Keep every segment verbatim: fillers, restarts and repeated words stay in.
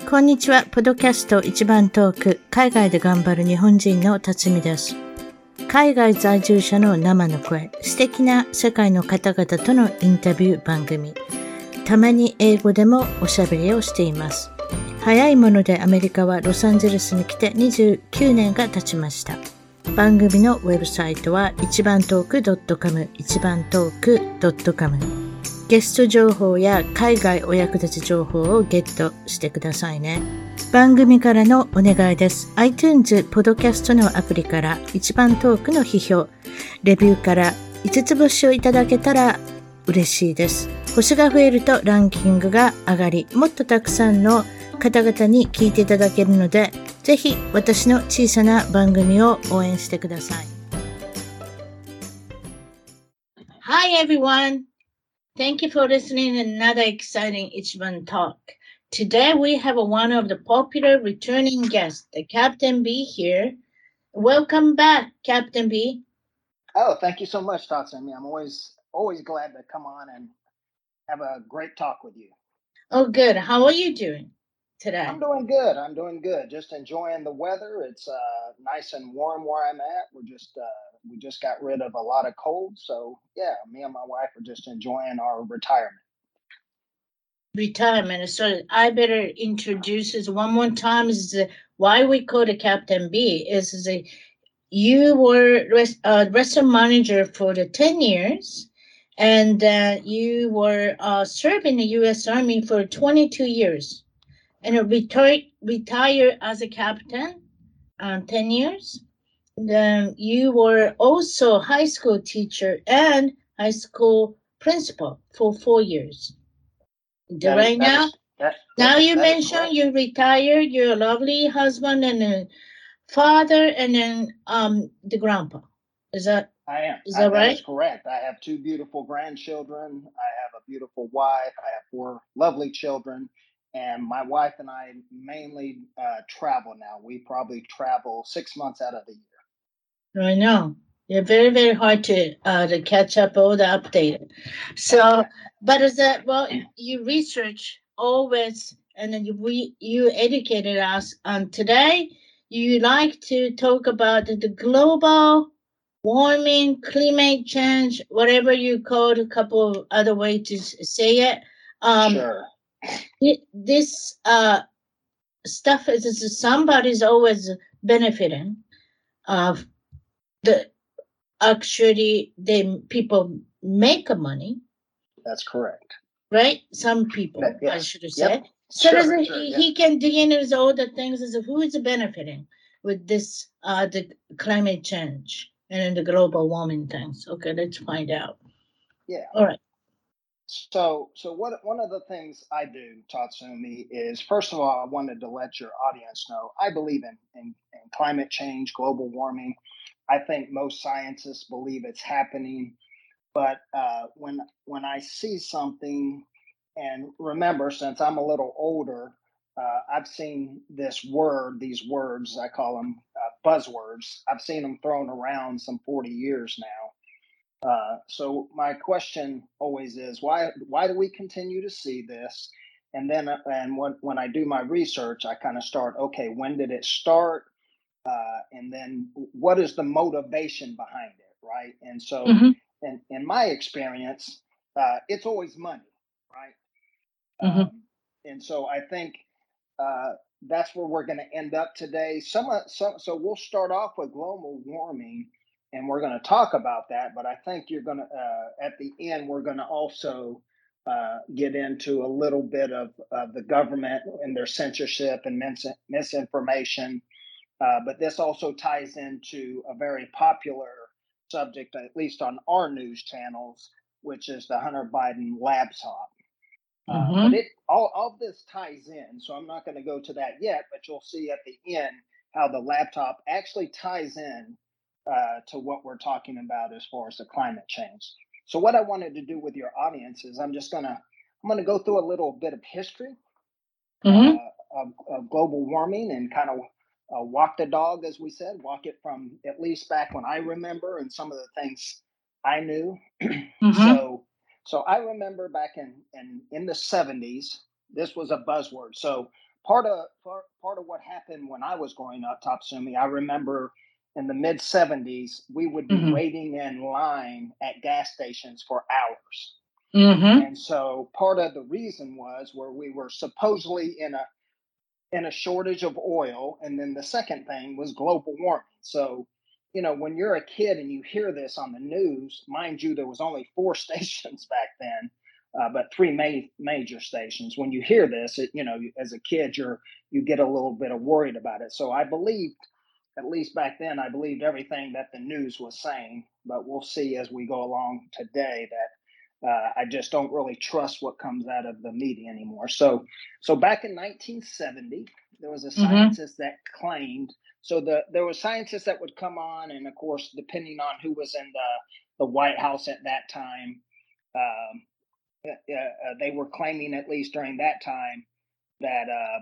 こんにちは。ポッドキャスト一番トーク、海外で頑張る日本人の辰巳です。海外在住者の生の声、素敵な世界の方々とのインタビュー番組。たまに英語でもおしゃべりをしています。早いものでアメリカはロサンゼルスに来てにじゅうきゅうねんが経ちました。番組のウェブサイトは一番トーク .com、一番トーク .com。ゲスト情報や海外お役立ち情報をゲットしてくださいね。番組からのお願いです。iTunes ポッドキャストのアプリから一番トークの批評、レビューからいつつ星をいただけたら嬉しいです。星が増えるとランキングが上がり、もっとたくさんの方々に聞いていただけるので、ぜひ私の小さな番組を応援してください。Hi everyone!Thank you for listening to another exciting Ichiban Talk. Today we have one of the popular returning guests, the Captain B here. Welcome back, Captain B. Oh, thank you so much, Tatsumi. I'm always always glad to come on and have a great talk with you. Oh, good. How are you doing today? I'm doing good. I'm doing good. Just enjoying the weather. It's uh, nice and warm where I'm at. We're just uh, we just got rid of a lot of cold, so yeah, me and my wife are just enjoying our retirement. Retirement. So I better introduce this one more time. Is the, why we call the Captain B is the you were res, uh, restaurant manager for the ten years, and uh, you were uh, serving the U S Army for twenty-two years, and retired retired as a captain, uh, ten years. Then you were also high school teacher and high school principal for four years. That right is, that now, is, that, now that, you that mentioned you retired. You're a lovely husband and a father, and then um the grandpa. Is that I am. is I, that that right? is correct. I have two beautiful grandchildren. I have a beautiful wife. I have four lovely children. And my wife and I mainly uh, travel now. We probably travel six months out of the year. I know. You're very, very hard to uh, to catch up all the updated. So, but is that well? You research always, and then you we you educated us. Um, today you like to talk about the, the global warming, climate change, whatever you call a couple of other ways to s- say it. Um, Sure. it- this uh stuff is, is somebody's always benefiting of the actually they people make money, That's correct. right? Some people, That, I yes. should have Yep. said. So Sure, does it, sure, he, yeah. he can dig into all the things as who is benefiting with this uh the climate change and the global warming things. Okay, let's find out. Yeah. All right. So, so what? One of the things I do, Tatsumi, is first of all, I wanted to let your audience know I believe in, in, in climate change, global warming. I think most scientists believe it's happening, but uh, when when I see something, and remember, since I'm a little older, uh, I've seen this word, these words, I call them uh, buzzwords. I've seen them thrown around some forty years now. Uh, so my question always is why why do we continue to see this? And then uh, and when when I do my research, I kind of start okay, when did it start? Uh, and then what is the motivation behind it, right? And so, Mm-hmm. in in my experience, uh, it's always money, right? Mm-hmm. Um, and so I think uh, that's where we're going to end up today. Some, uh, some, so we'll start off with global warming, and we're going to talk about that. But I think you're going to, uh, at the end, we're going to also uh, get into a little bit of uh, the government and their censorship and mis- misinformation. Uh, but this also ties into a very popular subject, at least on our news channels, which is the Hunter Biden laptop. Uh, Mm-hmm. but it all, all of this ties in, so I'm not going to go to that yet, but you'll see at the end how the laptop actually ties in uh, to what we're talking about as far as the climate change. So what I wanted to do with your audience is I'm just going to I'm going to go through a little bit of history Mm-hmm. uh, of, of global warming and kind of uh, walk the dog, as we said, walk it from at least back when I remember and some of the things I knew. Mm-hmm. So so I remember back in, in, in the seventies, this was a buzzword. So part of part, part of what happened when I was growing up, Tatsumi, I remember in the mid seventies, we would be mm-hmm. waiting in line at gas stations for hours. Mm-hmm. And so part of the reason was where we were supposedly in a in a shortage of oil. And then the second thing was global warming. So, you know, when you're a kid and you hear this on the news, mind you, there was only four stations back then, uh, but three ma- major stations. When you hear this, it, you know, as a kid, you're you get a little bit of worried about it. So I believed, at least back then, I believed everything that the news was saying. But we'll see as we go along today that Uh, I just don't really trust what comes out of the media anymore. So, so back in nineteen seventy, there was a scientist mm-hmm. that claimed. So the there were scientists that would come on, and of course, depending on who was in the the White House at that time, um, uh, uh, they were claiming, at least during that time, that um,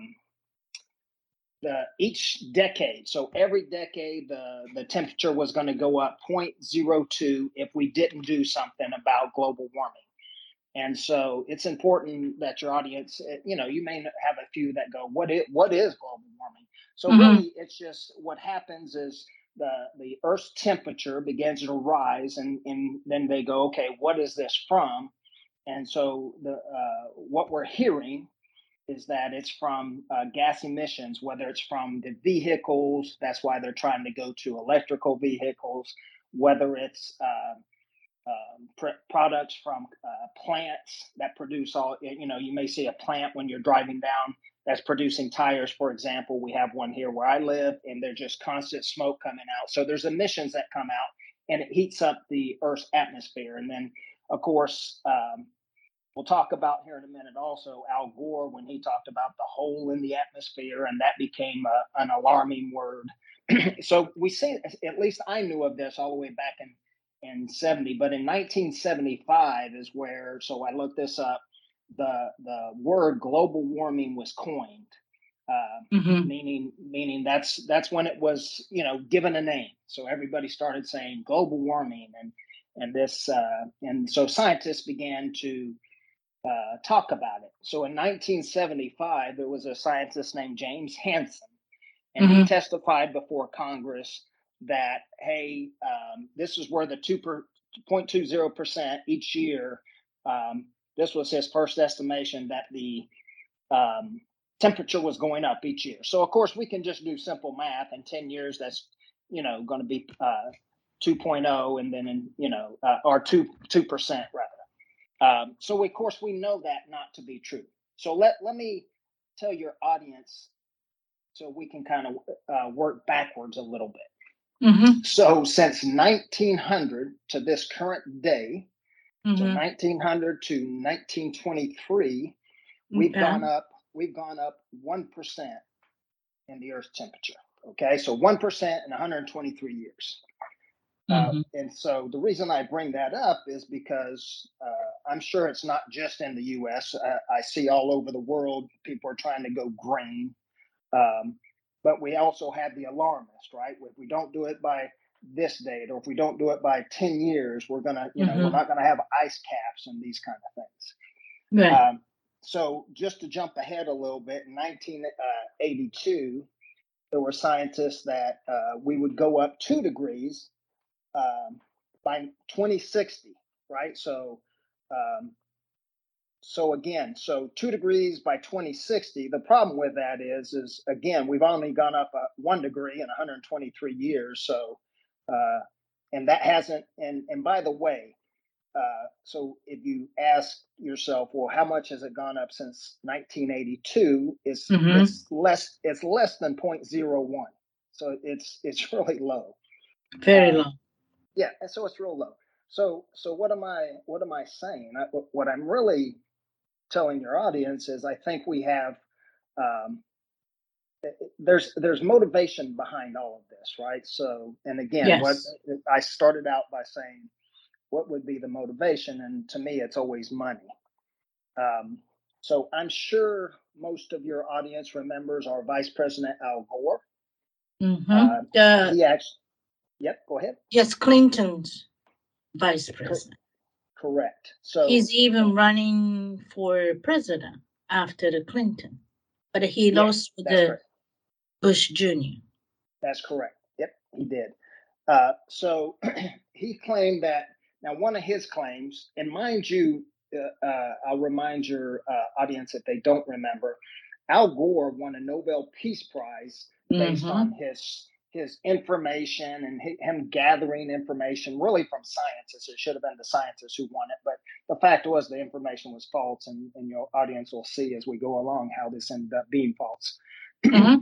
the each decade. So every decade, the the temperature was going to go up zero point zero two if we didn't do something about global warming. And so it's important that your audience, you know, you may have a few that go, what is, what is global warming? So mm-hmm. really, it's just what happens is the, the Earth's temperature begins to rise, and, and then they go, okay, what is this from? And so the uh, what we're hearing is that it's from uh, gas emissions, whether it's from the vehicles, that's why they're trying to go to electrical vehicles, whether it's uh, Um, pr- products from uh, plants that produce all, you know, you may see a plant when you're driving down that's producing tires, for example. We have one here where I live, and there's just constant smoke coming out. So there's emissions that come out, and it heats up the Earth's atmosphere. And then, of course, um, we'll talk about here in a minute also Al Gore, when he talked about the hole in the atmosphere, and that became a, an alarming word. So we see, at least I knew of this all the way back in in seventy, but in nineteen seventy-five is where, so I looked this up, the the word global warming was coined, uh, mm-hmm. meaning meaning that's that's when it was, you know, given a name. So everybody started saying global warming, and and this uh, and so scientists began to uh, talk about it. So in nineteen seventy-five, there was a scientist named James Hansen, and mm-hmm. he testified before Congress that, hey, um, this is where the two point two zero percent each year, um, this was his first estimation that the um, temperature was going up each year. So, of course, we can just do simple math. In ten years, that's, you know, going to be uh, two point oh, and then, in, you know, uh, or two, two percent rather. Um, so, of course, we know that not to be true. So let, let me tell your audience so we can kind of uh, work backwards a little bit. Mm-hmm. So since nineteen hundred to this current day, mm-hmm. so nineteen hundred to nineteen twenty-three, we've okay. gone up, we've gone up one percent in the Earth's temperature. Okay, so one percent in one hundred twenty-three years. Mm-hmm. Uh, and so the reason I bring that up is because uh, I'm sure it's not just in the U S. Uh, I see all over the world, people are trying to go green. Um, But we also have the alarmist, right? If we don't do it by this date, or if we don't do it by ten years, we're gonna, you know, mm-hmm. we're not gonna have ice caps and these kind of things. Right. Um, so just to jump ahead a little bit, in nineteen eighty-two, there were scientists that uh, we would go up two degrees um, by twenty sixty, right? So. Um, So again, so two degrees by twenty sixty. The problem with that is, is again, we've only gone up uh, one degree in one hundred twenty-three years. So, uh, and that hasn't. And and by the way, uh, so if you ask yourself, well, how much has it gone up since nineteen eighty-two? It's mm-hmm. it's less. It's less than zero point zero one. So it's it's really low. Very uh, low. Yeah, and so it's real low. So so what am I what am I saying? I, what I'm really telling your audience is, I think we have um, there's there's motivation behind all of this, right? So, and again, yes. what I started out by saying, what would be the motivation? And to me, it's always money. Um, so I'm sure most of your audience remembers our Vice President Al Gore. Mm-hmm. Uh, uh, he actually, yep, go ahead. Yes, Clinton's vice president. Correct. So he's even running for president after the Clinton. but he Yeah, lost with that's the correct. Bush Junior That's correct. Yep, he did. Uh, so he claimed that. Now, one of his claims, and mind you, uh, uh, I'll remind your uh, audience if they don't remember, Al Gore won a Nobel Peace Prize based Mm-hmm. on his his information and hi- him gathering information really from scientists. It should have been the scientists who won it, but the fact was the information was false, and, and your audience will see as we go along how this ended up being false. Mm-hmm.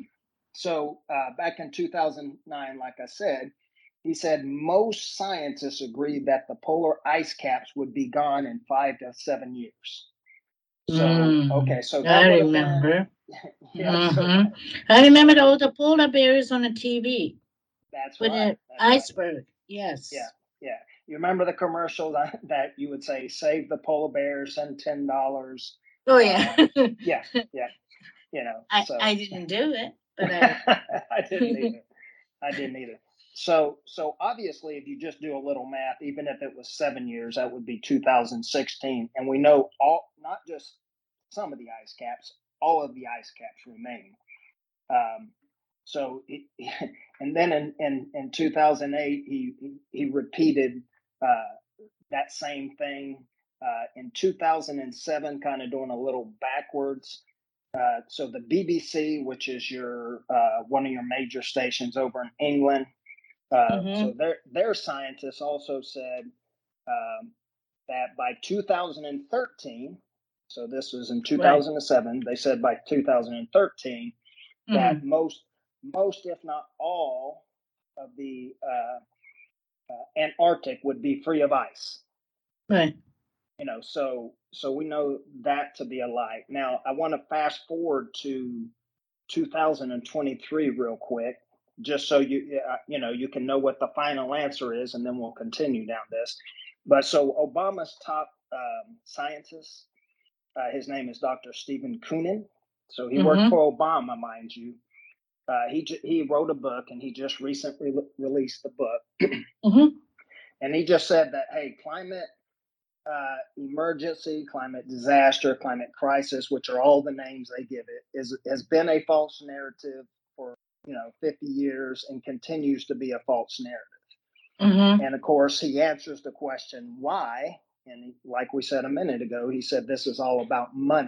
So uh, back in two thousand nine, like I said, he said most scientists agreed that the polar ice caps would be gone in five to seven years. So, Mm, okay, so that I would have been, remember. yeah, so Mm-hmm. I remember all the polar bears on the T V that's with right. an That's right. iceberg. Yeah, Yes. yeah. You remember the commercial that, that you would say, save the polar bear, send ten dollars. Oh yeah. Uh, yeah, yeah, you know, I so I didn't do it, but I. I didn't either. I didn't either. So, so obviously, if you just do a little math, even if it was seven years, that would be two thousand sixteen, and we know all, not just some of the ice caps, all of the ice caps remain. Um, so, it, and then in, in, in two thousand eight, he he repeated uh, that same thing uh, in two thousand seven, kind of doing a little backwards. Uh, so the B B C, which is your uh, one of your major stations over in England, uh, Mm-hmm. so their their scientists also said um, that by two thousand thirteen, so this was in Right. two thousand seven, they said by two thousand thirteen that Mm-hmm. most most if not all of the uh, uh, Antarctic would be free of ice. Right. You know, so so we know that to be a lie. Now I want to fast forward to two thousand twenty-three real quick, just so you uh, you know you can know what the final answer is, and then we'll continue down this. But so Obama's top um, scientist, uh, his name is Doctor Stephen Koonin. So he worked Mm-hmm. for Obama, mind you. Uh, he he wrote a book, and he just recently re- released the book, Mm-hmm. and he just said that hey, climate uh, emergency, climate disaster, climate crisis, which are all the names they give it, is has been a false narrative for you know fifty years and continues to be a false narrative. Mm-hmm. And of course, he answers the question why. And he, like we said a minute ago, he said this is all about money.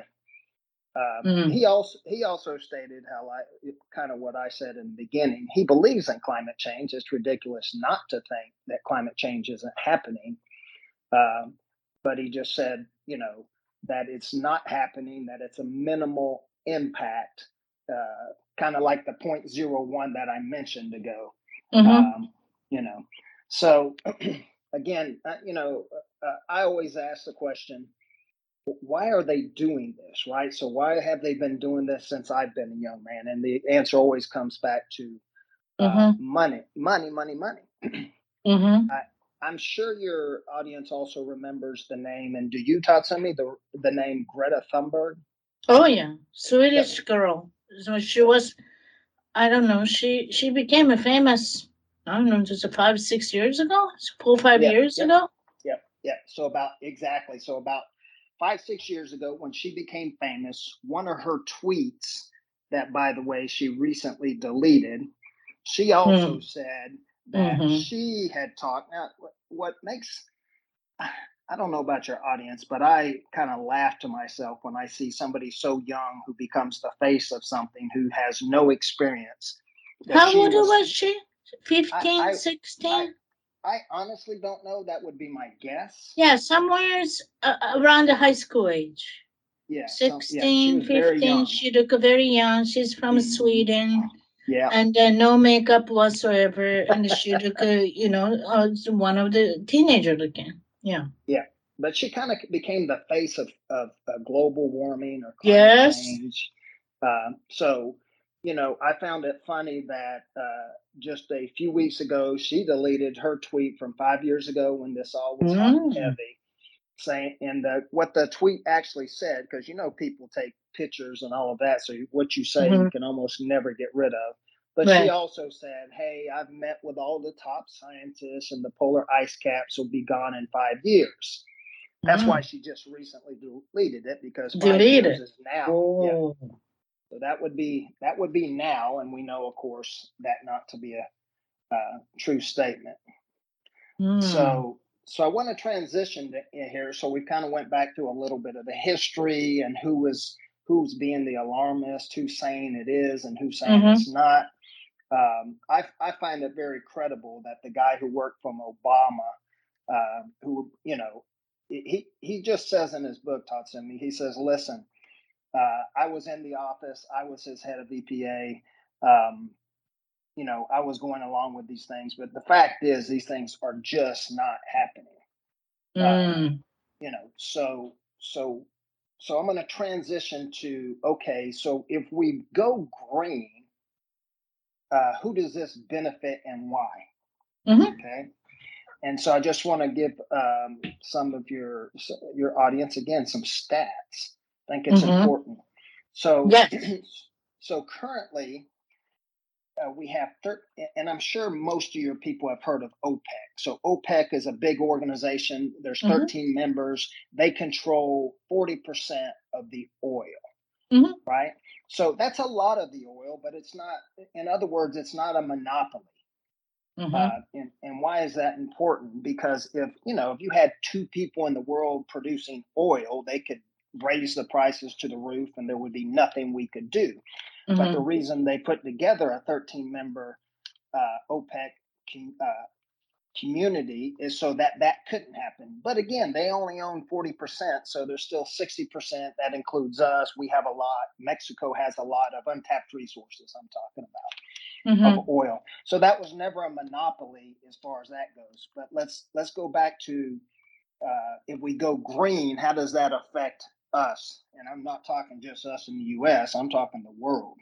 Um, Mm-hmm. he also he also stated how I kind of what I said in the beginning. He believes in climate change. It's ridiculous not to think that climate change isn't happening. Um, but he just said, you know, that it's not happening, that it's a minimal impact, uh, kind of like the point zero one that I mentioned ago. Mm-hmm. Um, you know, so again, uh, you know, uh, I always ask the question, why are they doing this, right? So why have they been doing this since I've been a young man? And the answer always comes back to uh, Mm-hmm. money, money, money, money. Mm-hmm. I, I'm sure your audience also remembers the name. And do you, Tatsumi, the the name Greta Thunberg? Oh yeah, Swedish Yep. girl. So she Yep. was. I don't know. She she became a famous. I don't know, just five six years ago, four five Yep. years Yep. ago. Yep. Yep. So about exactly. So about five six years ago, when she became famous, one of her tweets that, by the way, she recently deleted. She also Mm. said that Mm-hmm. she had talked. Now, what makes I don't know about your audience, but I kind of laugh to myself when I see somebody so young who becomes the face of something who has no experience. That How she old was, was she? I, Fifteen, I, I, sixteen. I honestly don't know. That would be my guess. Yeah, somewhere uh, around the high school age. Yeah, some, yeah, she Sixteen, was very fifteen. young. She look very young. She's from Mm-hmm. Sweden. Yeah, And uh, no makeup whatsoever. And she look, uh, you know, uh, one of the teenager looking. Yeah. yeah, but she kind of became the face of of uh, global warming or climate Yes. change. Um, so, you know, I found it funny that uh, just a few weeks ago, she deleted her tweet from five years ago when this all was hot and Mm. heavy, saying, and the, what the tweet actually said, because, you know, people take pictures and all of that. So what you say, Mm-hmm. you can almost never get rid of. But she Right. also said, hey, I've met with all the top scientists and the polar ice caps will be gone in five years. That's why Mm. she just recently deleted it because five years Deleted. is now. Yeah. Oh. So that would be that would be now, and we know, of course, that not to be a uh, true statement. Mm. So so I want to transition to in here. So we kind of went back to a little bit of the history and who was who's being the alarmist, who's saying it is, and who's saying Mhm. it's not. Um, I I find it very credible that the guy who worked from Obama, uh, who you know, he he just says in his book, Todd sent me, he says, listen, uh, I was in the office, I was his head of E P A. Um, you know, I was going along with these things, but the fact is, these things are just not happening. Uh, Mm. you know, so so so I'm going to transition to okay. So if we go green, uh, who does this benefit and why? Mhm. Okay, and so I just want to give um, some of your your audience again some stats. I think it's Mhm. important. So Yes. so currently uh, we have, thir- and I'm sure most of your people have heard of OPEC. So OPEC is a big organization. There's Mhm. thirteen members. They control forty percent of the oil, Mhm. right? So that's a lot of the oil, but it's not, in other words, it's not a monopoly. Mhm. Uh, and, and why is that important? Because if, you know, if you had two people in the world producing oil, they could raise the prices to the roof and there would be nothing we could do. But the Mhm. reason they put together a thirteen member uh, OPEC com- uh, community is so that that couldn't happen. But again, they only own forty percent, so there's still sixty percent. That includes us. We have a lot. Mexico has a lot of untapped resources, I'm talking about, Mhm. of oil. So that was never a monopoly as far as that goes. But let's let's go back to uh, if we go green, how does that affect us? And I'm not talking just us in the U S, I'm talking the world.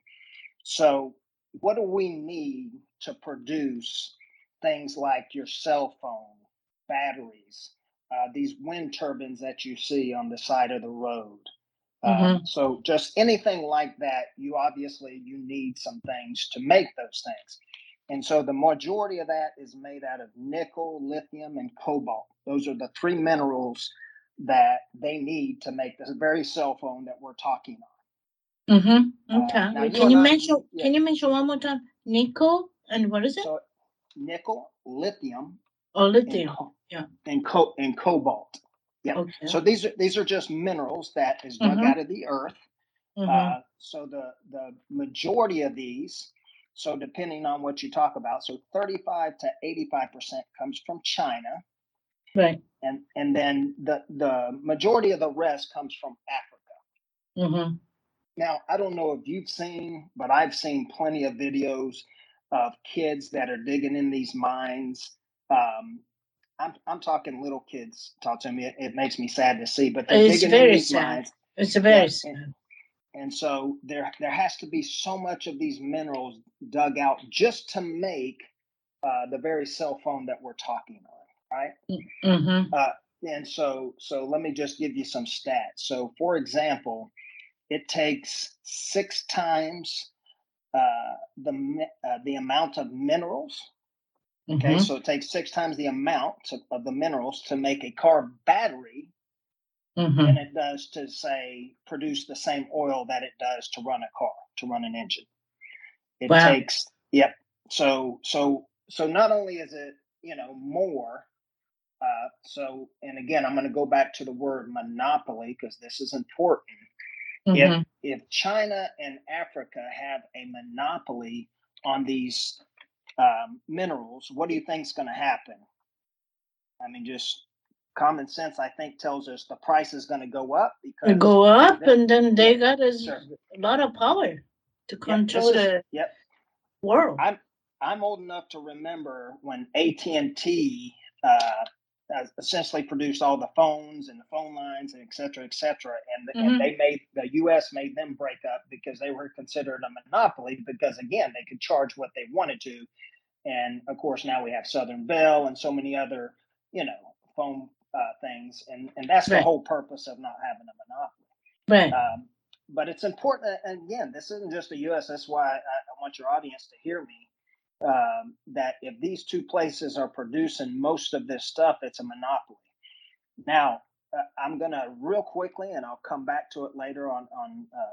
So, what do we need to produce things like your cell phone, batteries, uh, these wind turbines that you see on the side of the road? Um, Mhm. so, just anything like that, you obviously you need some things to make those things. And so, the majority of that is made out of nickel, lithium, and cobalt. Those are the three minerals that they need to make this very cell phone that we're talking on. Mhm. Uh, Okay. now you Can and you I, mention? yeah. Can you mention one more time? Nickel and what is it? So nickel, lithium, Oh, and lithium. co- Yeah. and co- and cobalt. Yep. Okay. So these are these are just minerals that is dug Mhm. out of the earth. Mhm. Uh, so the the majority of these, so depending on what you talk about, so thirty-five to eighty-five percent comes from China, Right. and and then the the majority of the rest comes from Africa. Mhm. Now, I don't know if you've seen, but I've seen plenty of videos of kids that are digging in these mines. Um, I'm I'm talking little kids. Talk to me. It, it makes me sad to see, but they're It's digging in very these sad. mines. It's very Yep, and, sad. and so there there has to be so much of these minerals dug out just to make uh, the very cell phone that we're talking on, right? Mhm. Uh, and so so let me just give you some stats. So, for example, it takes six times uh, the uh, the amount of minerals. Okay, Mhm. so it takes six times the amount of, of the minerals to make a car battery than Mhm. it does to say produce the same oil that it does to run a car, to run an engine. It Wow. takes yep. So so so not only is it you know more. Uh, so and again, I'm going to go back to the word monopoly because this is important. If Mhm. if China and Africa have a monopoly on these um, minerals, what do you think is going to happen? I mean, just common sense, I think, tells us the price is going to go up They because, go up, the, and then they yep, got a sure, lot of power to yep. This control is the yep. world. I'm I'm old enough to remember when A T and T uh, essentially produced all the phones and the phone lines and et cetera, et cetera. And and Mhm. they made the U S made them break up because they were considered a monopoly because again they could charge what they wanted to. And of course now we have Southern Bell and so many other you know phone uh, things, and and that's the Right. whole purpose of not having a monopoly. Right. Um, but it's important, and again, this isn't just the U S. That's why I, I want your audience to hear me. Um, that if these two places are producing most of this stuff, it's a monopoly. Now, uh, I'm gonna real quickly, and I'll come back to it later on on uh,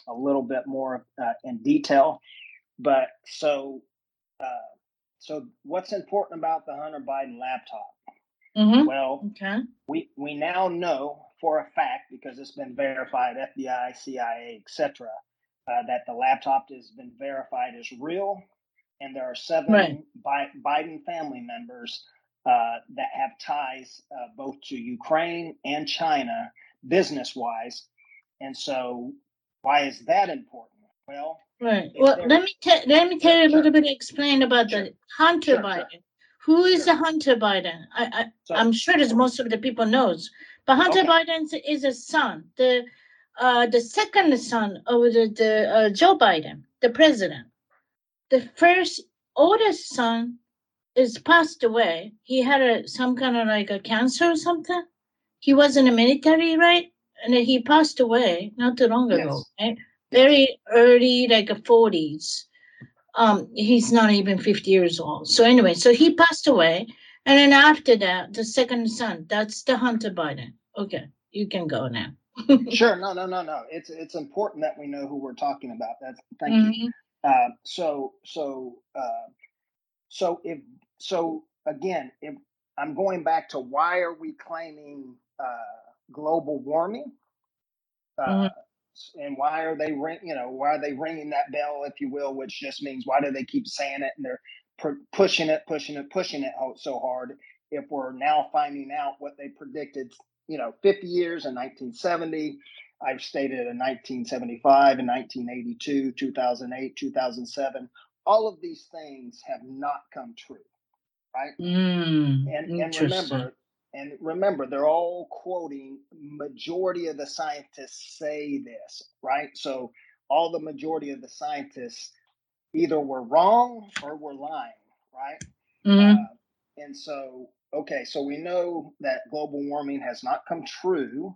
a little bit more uh, in detail. But so, uh, so what's important about the Hunter Biden laptop? Mm-hmm. Well, okay. we we now know for a fact, because it's been verified, F B I, C I A, et cetera, uh, that the laptop has been verified as real, and there are seven Right. Bi- Biden family members uh, that have ties uh, both to Ukraine and China, business-wise. And so, why is that important? Well, Right. if Well, there, let me tell let me tell sure, you a sure, little bit. Explain about sure, the Hunter sure, sure, Biden. Who is sure. the Hunter Biden? I, I So, I'm sure that most of the people knows, but Hunter okay, Biden is a son, the uh the second son of the, the uh, Joe Biden, the president. The first oldest son is passed away. He had a some kind of like a cancer or something. He was in the military, right? And then he passed away not too long ago, yes, right? yes. Very early, like a forties. Um, he's not even fifty years old. So anyway, so he passed away, and then after that, the second son, that's the Hunter Biden. Okay, you can go now. Sure. No, no, no, no. It's it's important that we know who we're talking about. That's thank you. hmm Uh, so so uh, so if so again, if I'm going back to why are we claiming uh, global warming, uh, hmm and why are they ring, you know, why are they ringing that bell, if you will, which just means why do they keep saying it and they're pr- pushing it, pushing it, pushing it so hard? If we're now finding out what they predicted, you know, fifty years in nineteen seventy, I've stated in nineteen seventy-five, in nineteen eighty-two, two thousand eight, two thousand seven, all of these things have not come true, right? Mm, and and interesting. remember and remember they're all quoting majority of the scientists say this, right? So all the majority of the scientists either were wrong or were lying, right? hmm uh, and so okay, so we know that global warming has not come true,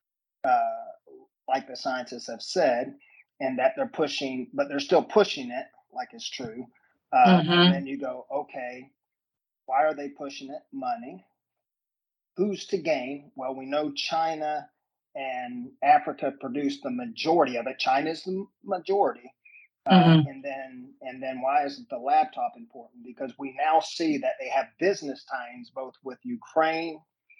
uh, like the scientists have said, and that they're pushing, but they're still pushing it like it's true. Uh, and hmm then you go, okay, why are they pushing it? Money. Who's to gain? Well, we know China and Africa produce the majority of it. China's the majority. Uh, hmm and then and then why is the laptop important? Because we now see that they have business ties both with Ukraine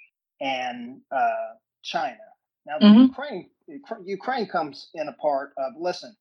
and uh, China. Now the hmm Ukraine Ukraine comes in a part of, listen,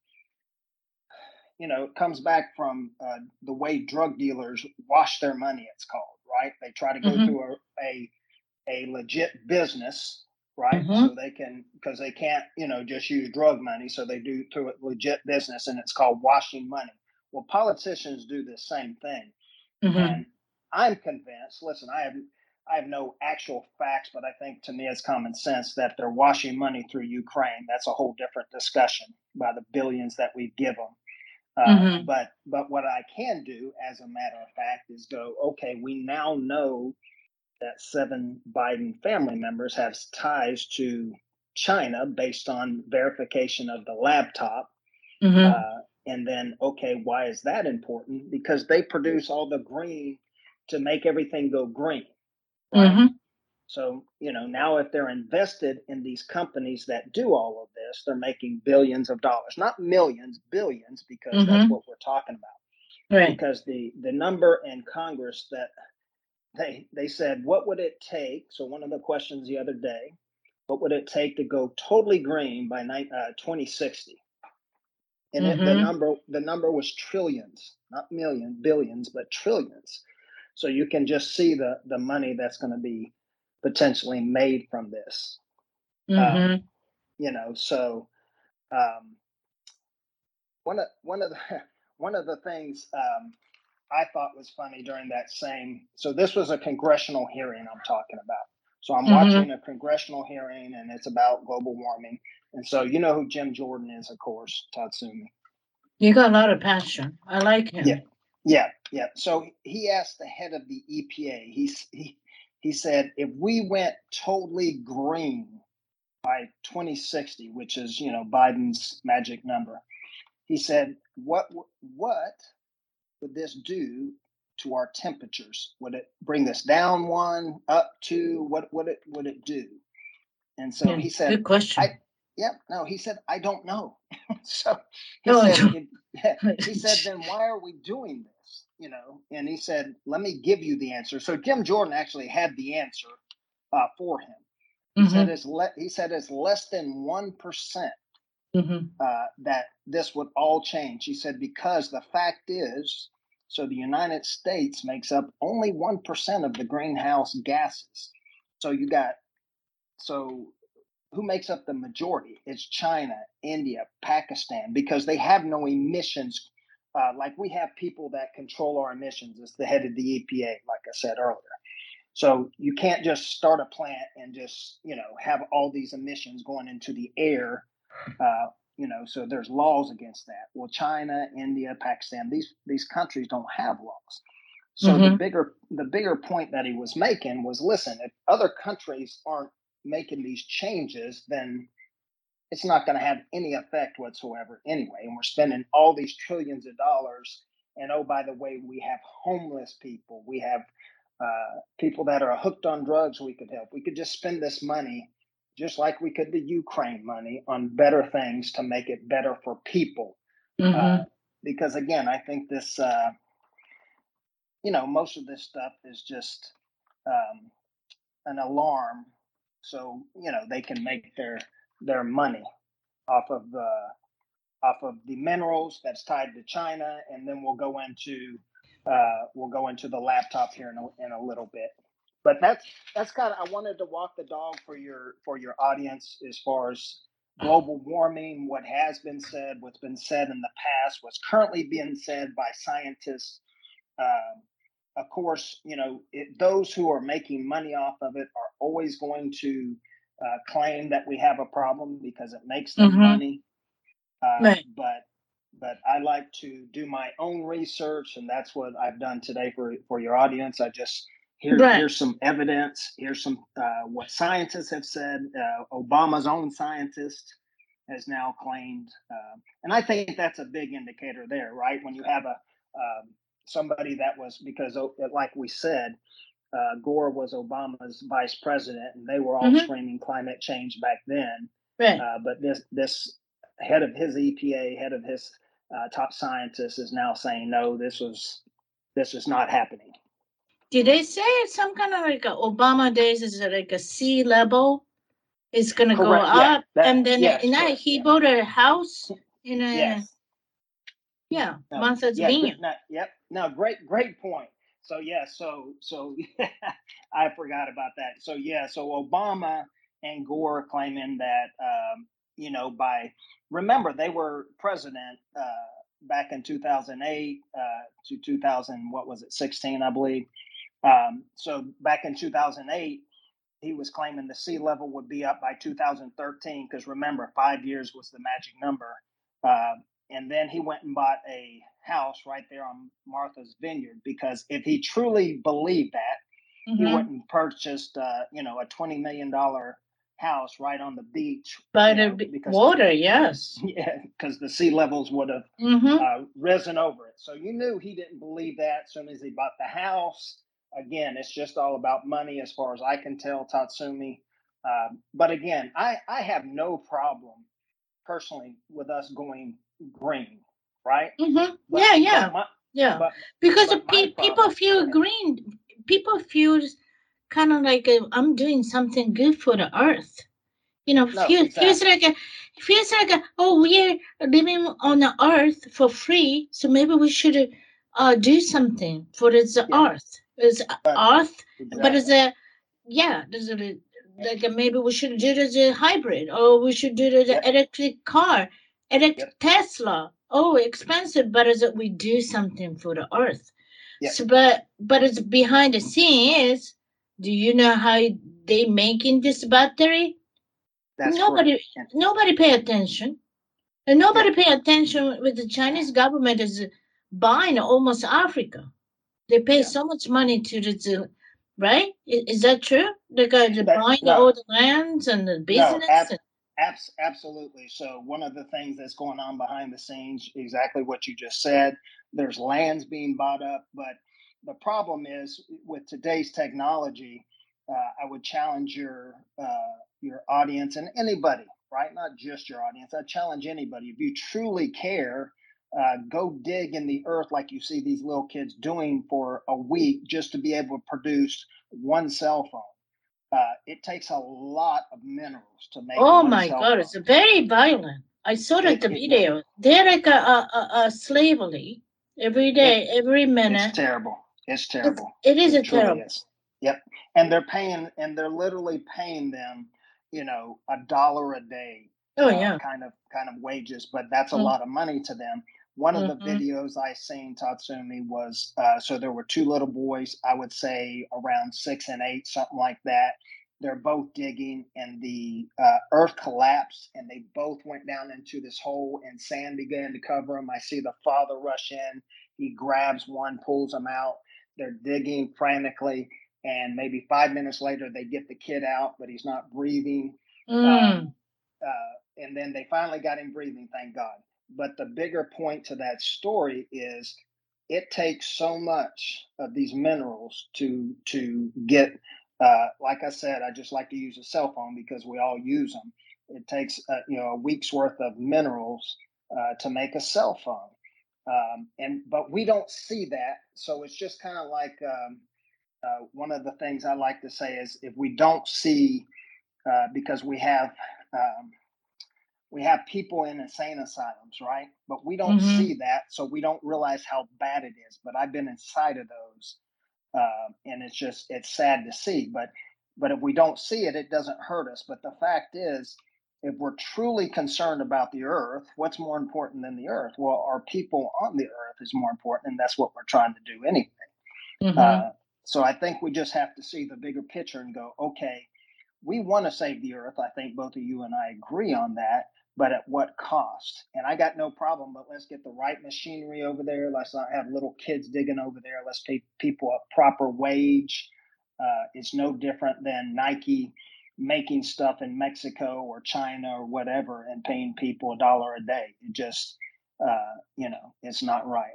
you know, it comes back from uh, the way drug dealers wash their money, it's called, right? They try to go hmm through a, a a legit business, right? hmm So they can, because they can't, you know, just use drug money. So they do through a legit business, and it's called washing money. Well, politicians do the same thing. hmm And I'm convinced, listen, I have I have no actual facts, but I think to me it's common sense that they're washing money through Ukraine. That's a whole different discussion by the billions that we give them. Uh, hmm but but what I can do, as a matter of fact, is go, okay, we now know that seven Biden family members have ties to China based on verification of the laptop. hmm Uh, and then, okay, why is that important? Because they produce all the green to make everything go green, right? hmm So, you know, now if they're invested in these companies that do all of this, they're making billions of dollars, not millions, billions, because that's hmm what we're talking about. Right. Because the the number in Congress that they they said, what would it take? So one of the questions the other day, what would it take to go totally green by uh, twenty sixty? And it, the hmm number the number was trillions, not millions, billions, but trillions. So you can just see the the money that's going to be potentially made from this. Um, hmm you know, so um, one of one of the one of the things um, I thought was funny during that same. So this was a congressional hearing I'm talking about. So I'm hmm watching a congressional hearing, and it's about global warming. And so you know who Jim Jordan is, of course, Tatsumi. You got a lot of passion. I like Yeah, him. yeah, yeah. So he asked the head of the E P A. He he he said, if we went totally green by twenty sixty, which is, you know, Biden's magic number, he said, what what would this do to our temperatures? Would it bring us down one, up two? What would it would it do? And so Yeah. he said, Good I question. yep, no, he said, I don't know. So he Oh, said, if, he said, then why are we doing this? You know, and he said, let me give you the answer. So Jim Jordan actually had the answer uh, for him. He mm-hmm. said it's le- he said it's less than one percent Mm-hmm. uh, that this would all change. He said because the fact is, so the United States makes up only one percent of the greenhouse gases. So you got so who makes up the majority? It's China, India, Pakistan, because they have no emissions. Uh, like we have people that control our emissions. It's the head of the E P A, like I said earlier. So you can't just start a plant and just, you know, have all these emissions going into the air. Uh, you know, so there's laws against that. Well, China, India, Pakistan, these these countries don't have laws. So mm-hmm. the bigger the bigger point that he was making was, listen, if other countries aren't making these changes, then it's not going to have any effect whatsoever anyway. And we're spending all these trillions of dollars. And oh, by the way, we have homeless people. We have uh, people that are hooked on drugs we could help. We could just spend this money just like we could the Ukraine money on better things to make it better for people. Mm-hmm. Uh, because again, I think this, uh, you know, most of this stuff is just um, an alarm. So, you know, they can make their their money off of the off of the minerals that's tied to China, and then we'll go into uh, we'll go into the laptop here in a, in a little bit. But that's that's kind of I wanted to walk the dog for your for your audience as far as global warming, what has been said, what's been said in the past, what's currently being said by scientists. Uh, of course, you know it, those who are making money off of it are always going to uh, claim that we have a problem because it makes them Mm-hmm. money. Uh, Right. but but I like to do my own research, and that's what I've done today for for your audience. I just here Right. here's some evidence. Here's some uh, what scientists have said. Uh, Obama's own scientist has now claimed, uh, and I think that's a big indicator there, right? When you have a um, somebody that was because, like we said, uh, Gore was Obama's vice president, and they were all mm-hmm. screaming climate change back then. Right. Uh, but this this head of his E P A, head of his uh, top scientist, is now saying no. This was this is not happening. Did they say some kind of like a Obama days is like a sea level is going to go Correct. Yeah. up, That, and then yes. and I, Correct. he Yeah. bought a house in a Yes. yeah No, Martha's yeah. Vineyard. No, yep. No. Great. Great point. So yeah. So so I forgot about that. So yeah. So Obama and Gore claiming that um, you know by remember they were president uh, back in two thousand eight uh, to two thousand what was it sixteen I believe. Um, so back in two thousand eight he was claiming the sea level would be up by two thousand thirteen because remember five years was the magic number. Uh, and then he went and bought a house right there on Martha's Vineyard because if he truly believed that, mm-hmm. he went and purchased, uh, you know, a twenty million dollars house right on the beach. By the know, because, water, yes. Yeah, because the sea levels would have mm-hmm. uh, risen over it. So you knew he didn't believe that as soon as he bought the house. Again, it's just all about money as far as I can tell, Tatsumi. Um, but again, I, I have no problem personally with us going green, right? Mm-hmm. But, yeah, yeah, my, yeah. But, because but pe- people feel green. People feel kind of like uh, I'm doing something good for the earth. You know, no, feel, exactly. feels like a, feels like a, oh, we're living on the earth for free, so maybe we should uh, do something for the yeah. earth. It's but, earth, exactly. But it's a yeah. There's a like a, maybe we should do it as a hybrid, or we should do it as an yep. electric car, electric yep. Tesla. Oh, expensive, but is it we do something for the earth? Yep. So, but but it's behind the scenes. Do you know how they making this battery? That's nobody correct. Nobody pay attention. And nobody yeah. pay attention with the Chinese government is buying almost Africa. They pay yeah. so much money to the right? Is, is that true? Because they're buying no. all the lands and the business. No, ab- and- abs- absolutely. So one of the things that's going on behind the scenes, exactly what you just said. There's lands being bought up, but the problem is with today's technology. Uh, I would challenge your uh, your audience and anybody right? Not just your audience. I challenge anybody. If you truly care, uh, go dig in the earth like you see these little kids doing for a week just to be able to produce one cell phone. Uh, it takes a lot of minerals to make Oh one my cell God, phone. it's very violent. I saw It, that the it video. They're like a, a, a, a slavery every day, it every it's minute. terrible. It's It's, terrible. it is It a truly terrible. is. Yep. And they're paying, and they're literally paying them, you know, a dollar a day, Oh uh, yeah. kind of kind of wages, but that's a Mm, lot of money to them. One of the mm-hmm. videos I seen, Tatsumi, was uh, so there were two little boys, I would say around six and eight, something like that. They're both digging, and the uh, earth collapsed, and they both went down into this hole, and sand began to cover them. I see the father rush in. He grabs one, pulls them out. They're digging frantically, and maybe five minutes later, they get the kid out, but he's not breathing. Mm. Um, uh, and then they finally got him breathing, thank God. But the bigger point to that story is it takes so much of these minerals to to get. Uh, like I said, I just like to use a cell phone because we all use them. It takes uh, you know a week's worth of minerals uh, to make a cell phone, um, and but we don't see that. So it's just kind of like um, uh, one of the things I like to say is if we don't see uh, because we have um, we have people in insane asylums, right? But we don't Mm-hmm. see that, so we don't realize how bad it is. But I've been inside of those, uh, and it's just it's sad to see. But but if we don't see it, it doesn't hurt us. But the fact is, if we're truly concerned about the earth, what's more important than the earth? Well, our people on the earth is more important, and that's what we're trying to do anyway. Mm-hmm. Uh, so I think we just have to see the bigger picture and go, okay, we want to save the earth. I think both of you and I agree on that, but at what cost? And I got no problem, but let's get the right machinery over there. Let's not have little kids digging over there. Let's pay people a proper wage. Uh, it's no different than Nike making stuff in Mexico or China or whatever and paying people a dollar a day. It just, uh, you know, it's not right.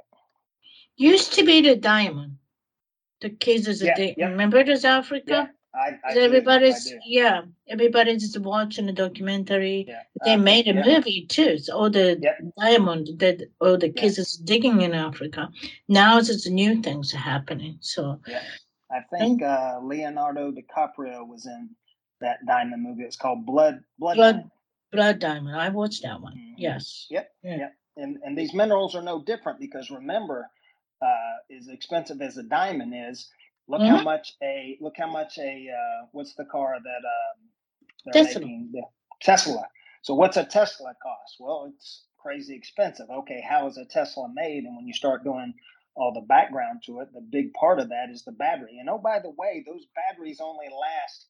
Used to be the diamond. The cases that Yeah, they yep, remember this yeah, Africa? I, I do, I Everybody's do. yeah, everybody's watching the documentary. Yeah, They uh, made a yeah, movie too. It's all the yep, diamond that all the kids is yes. digging in Africa. Now it's new things are happening. So Yeah, I think and uh, Leonardo DiCaprio was in that diamond movie. It's called Blood Blood blood Diamond. blood diamond. I watched that one. Mm-hmm. Yes. Yep, Yeah. yep. And and these minerals are no different because remember, uh, as expensive as a diamond is, look how Mm-hmm. much a look how much a uh, what's the car that um, they're Tesla. making the Tesla. So what's a Tesla cost? Well, it's crazy expensive. Okay, how is a Tesla made? And when you start doing all the background to it, the big part of that is the battery. And oh, by the way, those batteries only last,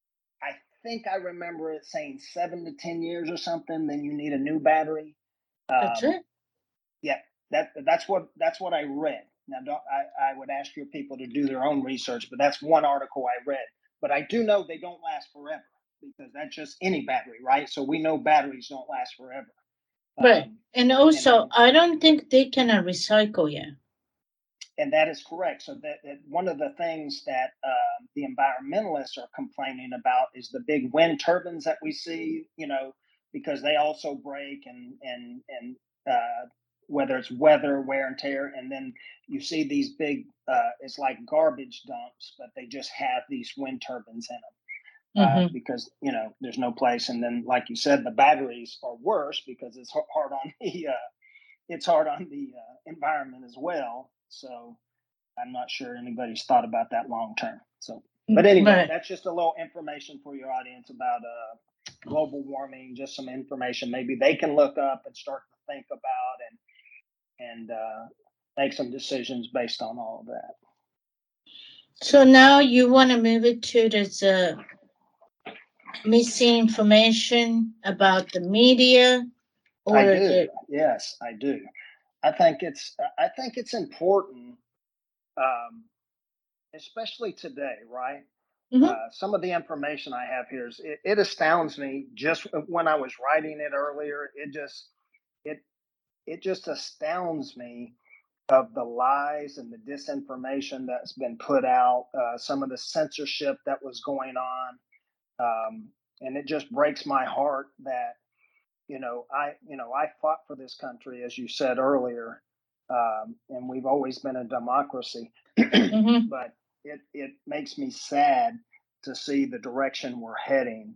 I think I remember it saying seven to ten years or something. Then you need a new battery. That's Um, it. yeah, that that's what that's what I read. Now, don't, I, I would ask your people to do their own research, but that's one article I read. But I do know they don't last forever because that's just any battery, right? So we know batteries don't last forever. Right. Um, And and also then I don't think they can uh, recycle yet. and that is correct. So that, that one of the things that uh, the environmentalists are complaining about is the big wind turbines that we see, you know, because they also break and and and uh, whether it's weather, wear and tear, and then you see these big, uh, it's like garbage dumps, but they just have these wind turbines in them uh, Mm-hmm. because you know there's no place. And then, like you said, the batteries are worse because it's hard on the uh, it's hard on the uh, environment as well. So I'm not sure anybody's thought about that long term. So, but anyway, Right. that's just a little information for your audience about uh, global warming. Just some information maybe they can look up and start to think about and and uh, make some decisions based on all of that. So now you want to move it to this uh, missing information about the media I or do. the Yes, I do. I think it's I think it's important, um, especially today, right? Mhm. Uh, some of the information I have here is it, it astounds me. Just when I was writing it earlier, it just it it just astounds me of the lies and the disinformation that's been put out. Uh, some of the censorship that was going on. Um, and it just breaks my heart that, you know, I, you know, I fought for this country, as you said earlier, um, and we've always been a democracy. Mm-hmm. But it it makes me sad to see the direction we're heading.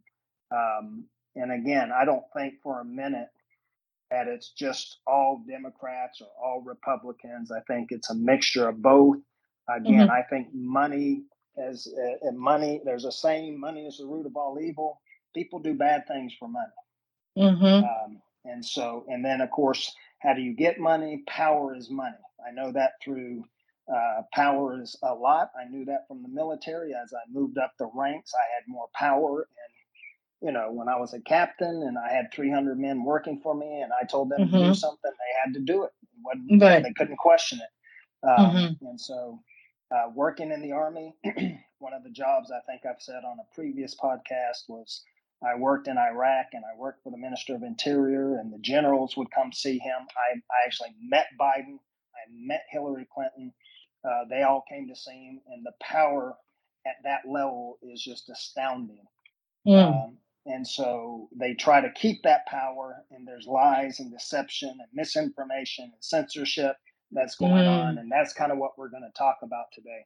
Um, and again, I don't think for a minute that it's just all Democrats or all Republicans. I think it's a mixture of both. Again, Mm-hmm. I think money as uh, money. There's a saying: "Money is the root of all evil." People do bad things for money. Mm-hmm. Um, and so, and then of course, how do you get money? Power is money. I know that through uh, power is a lot. I knew that from the military. As I moved up the ranks, I had more power. And, you know, when I was a captain and I had three hundred men working for me and I told them to do Mm-hmm. something, they had to do it. It wasn't, Right. they couldn't question it. Um, Mm-hmm. and so, uh, working in the Army, one of the jobs I think I've said on a previous podcast was I worked in Iraq and I worked for the Minister of Interior, and the generals would come see him. I, I actually met Biden. I met Hillary Clinton. Uh, they all came to see him, and the power at that level is just astounding. Mm. Um, and so they try to keep that power, and there's lies and deception and misinformation and censorship that's going on, Mm. and that's kind of what we're going to talk about today.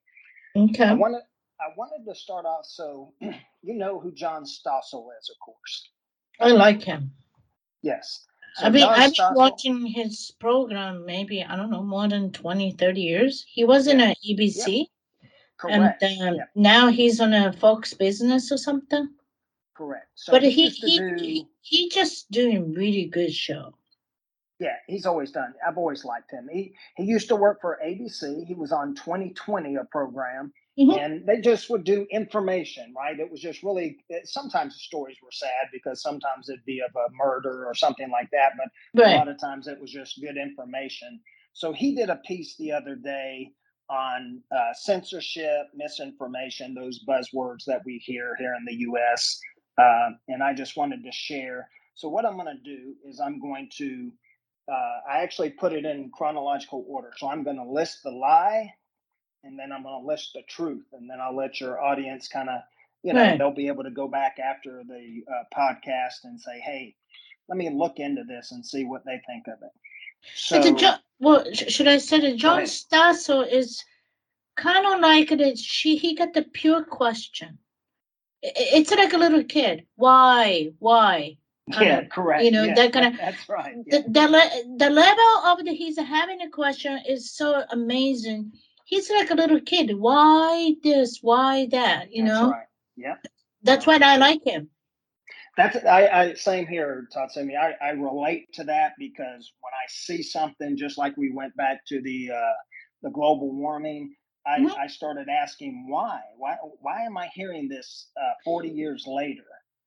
I Okay. wanted I wanted to start off. So you know who John Stossel is, of course. I like him. Yes. So I've been, John I've been Stossel. watching his program maybe, I don't know, more than twenty, thirty years. He was in Yeah. a E B C. Yep. Correct. And um, Yep. now he's on a Fox Business or something. Correct. So But he, he used to he, do. he he just doing really good show. Yeah, he's always done. I've always liked him. He he used to work for A B C. He was on twenty twenty, a program, Mm-hmm. and they just would do information, right? It was just really. It, sometimes the stories were sad because sometimes it'd be of a murder or something like that, but Right. a lot of times it was just good information. So he did a piece the other day on uh, censorship, misinformation, those buzzwords that we hear here in the U S. Uh, and I just wanted to share. So what I'm going to do is I'm going to uh, I actually put it in chronological order. So I'm going to list the lie, and then I'm going to list the truth, and then I'll let your audience kind of, you know, Right. they'll be able to go back after the uh, podcast and say, hey, let me look into this and see what they think of it. But the So, John, well, sh- should I say that go John ahead. Stossel is kind of like that. She he got the pure question. I- It's like a little kid. Why? Why? Kind Yeah, of, correct. you know, Yes, that kind that, of that's right. the Yeah. the, le- the level of the he's having a question is so amazing. He's like a little kid. Why this? Why that? You That's know. right. Yep. That's Yep. why I like him. That's I, I same here, Tatsumi. I, I relate to that because when I see something, just like we went back to the uh, the global warming, I, Mhm. I started asking why. Why why am I hearing this uh, forty years later?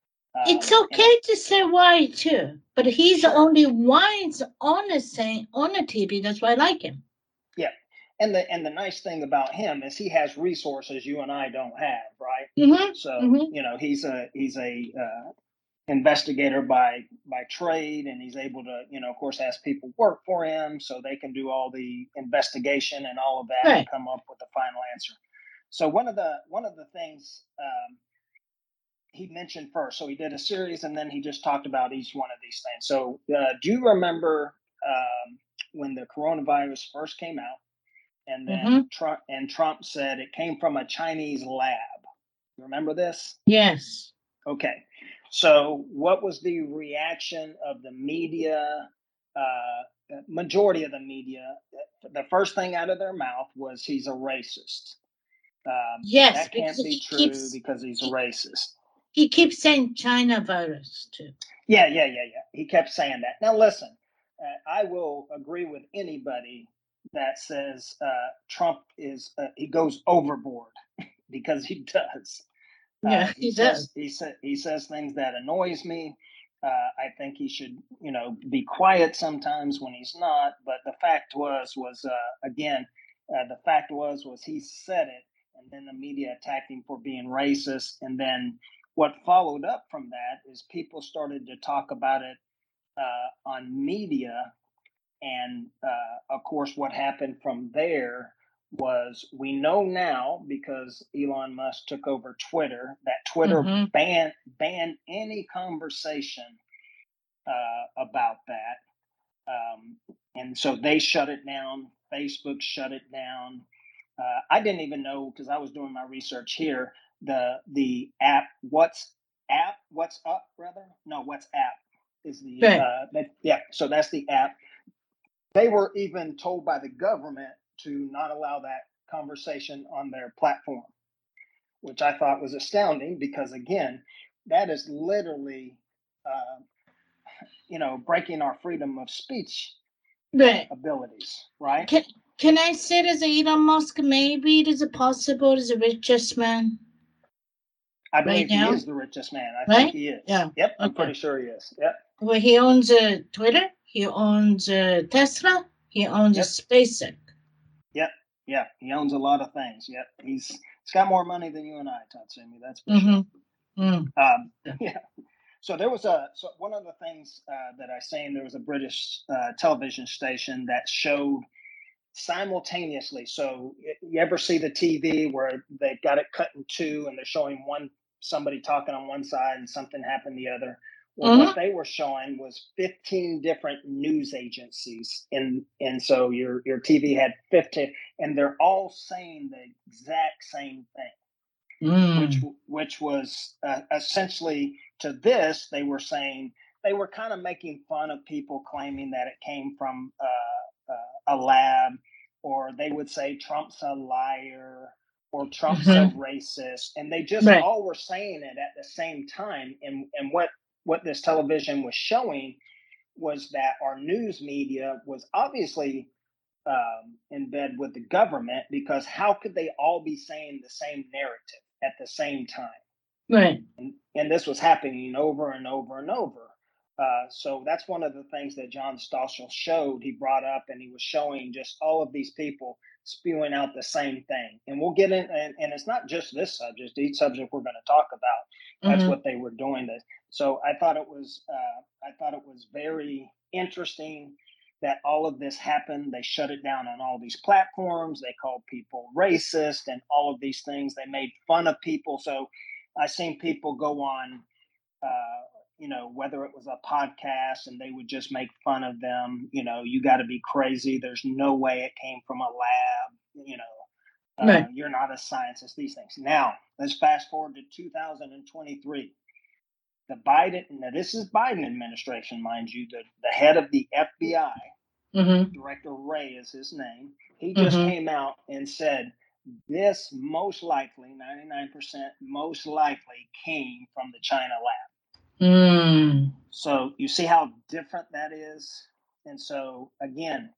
It's Um, and it, okay to say why too, but he's the sure, only one on the same on the T V. That's why I like him. yeah. And the and the nice thing about him is he has resources you and I don't have, right? Mm-hmm. So Mm-hmm. you know he's a he's a uh, investigator by by trade, and he's able to, you know, of course, ask people work for him so they can do all the investigation and all of that and Right. come up with the final answer. So one of the one of the things um, he mentioned first, so he did a series and then he just talked about each one of these things. So uh, do you remember um, when the coronavirus first came out, and Mm-hmm. then Trump and Trump said it came from a Chinese lab? You remember this? Yes. Okay. So, what was the reaction of the media? Uh, majority of the media, the first thing out of their mouth was he's a racist. Um, Yes, that because can't be he true keeps because he's a he, racist. he keeps saying China virus too. Yeah, yeah, yeah, yeah. He kept saying that. Now, listen, uh, I will agree with anybody that says uh, Trump is, uh, he goes overboard because he does. Uh, Yeah, he he says does. he said he says things that annoys me. Uh, I think he should, you know, be quiet sometimes when he's not. But the fact was, was uh, again, uh, the fact was, was he said it, and then the media attacked him for being racist. And then what followed up from that is people started to talk about it uh, on media, and uh, of course, what happened from there was we know now because Elon Musk took over Twitter that Twitter Mm-hmm. banned banned any conversation uh, about that. Um, and so they shut it down. Facebook shut it down. Uh, I didn't even know, because I was doing my research here, the the app What's app What's Up rather no WhatsApp is the Right. uh, that, yeah. So that's the app. They were even told by the government to not allow that conversation on their platform, which I thought was astounding, because again, that is literally, uh, you know, breaking our freedom of speech Right. uh, abilities, right? Can can I say that Elon Musk maybe it is possible is the richest man I right believe he now? is the richest man. I Right? think he is. Yeah. Yep, I'm Okay. pretty sure he is. Yep. Well, he owns uh, Twitter. He owns uh, Tesla. He owns Yep. SpaceX. Yep. Yeah. He owns a lot of things. Yep. He's he's got more money than you and I, Tatsumi. That's for Mm-hmm. sure. Mm. Um, Yeah. yeah. So there was a so one of the things uh, that I seen, there was a British uh, television station that showed simultaneously. So you ever see the T V where they've got it cut in two and they're showing one somebody talking on one side and something happened the other? Well, Mm-hmm. what they were showing was fifteen different news agencies, and and so your your T V had fifteen, and they're all saying the exact same thing, Mm. which which was uh, essentially, to this, they were saying, they were kind of making fun of people claiming that it came from uh, uh, a lab, or they would say Trump's a liar, or Trump's Mm-hmm. a racist, and they just Right. all were saying it at the same time. And and what what this television was showing was that our news media was obviously um, in bed with the government, because how could they all be saying the same narrative at the same time? Right. And, and this was happening over and over and over. Uh, so that's one of the things that John Stossel showed. He brought up, and he was showing just all of these people spewing out the same thing. And we'll get in, and, and it's not just this subject, each subject we're going to talk about. That's Mm-hmm. what they were doing. This. So I thought it was, uh, I thought it was very interesting that all of this happened. They shut it down on all these platforms. They called people racist and all of these things. They made fun of people. So I seen people go on, uh, you know, whether it was a podcast, and they would just make fun of them. You know, you got to be crazy. There's no way it came from a lab. You know, uh, Right. you're not a scientist. These things. Now let's fast forward to two thousand twenty-three. The Biden, now this is Biden administration, mind you. The the head of the F B I, Mm-hmm. Director Wray is his name. He just Mm-hmm. came out and said, this most likely, ninety-nine percent most likely, came from the China lab. Mm. So you see how different that is? And so, again,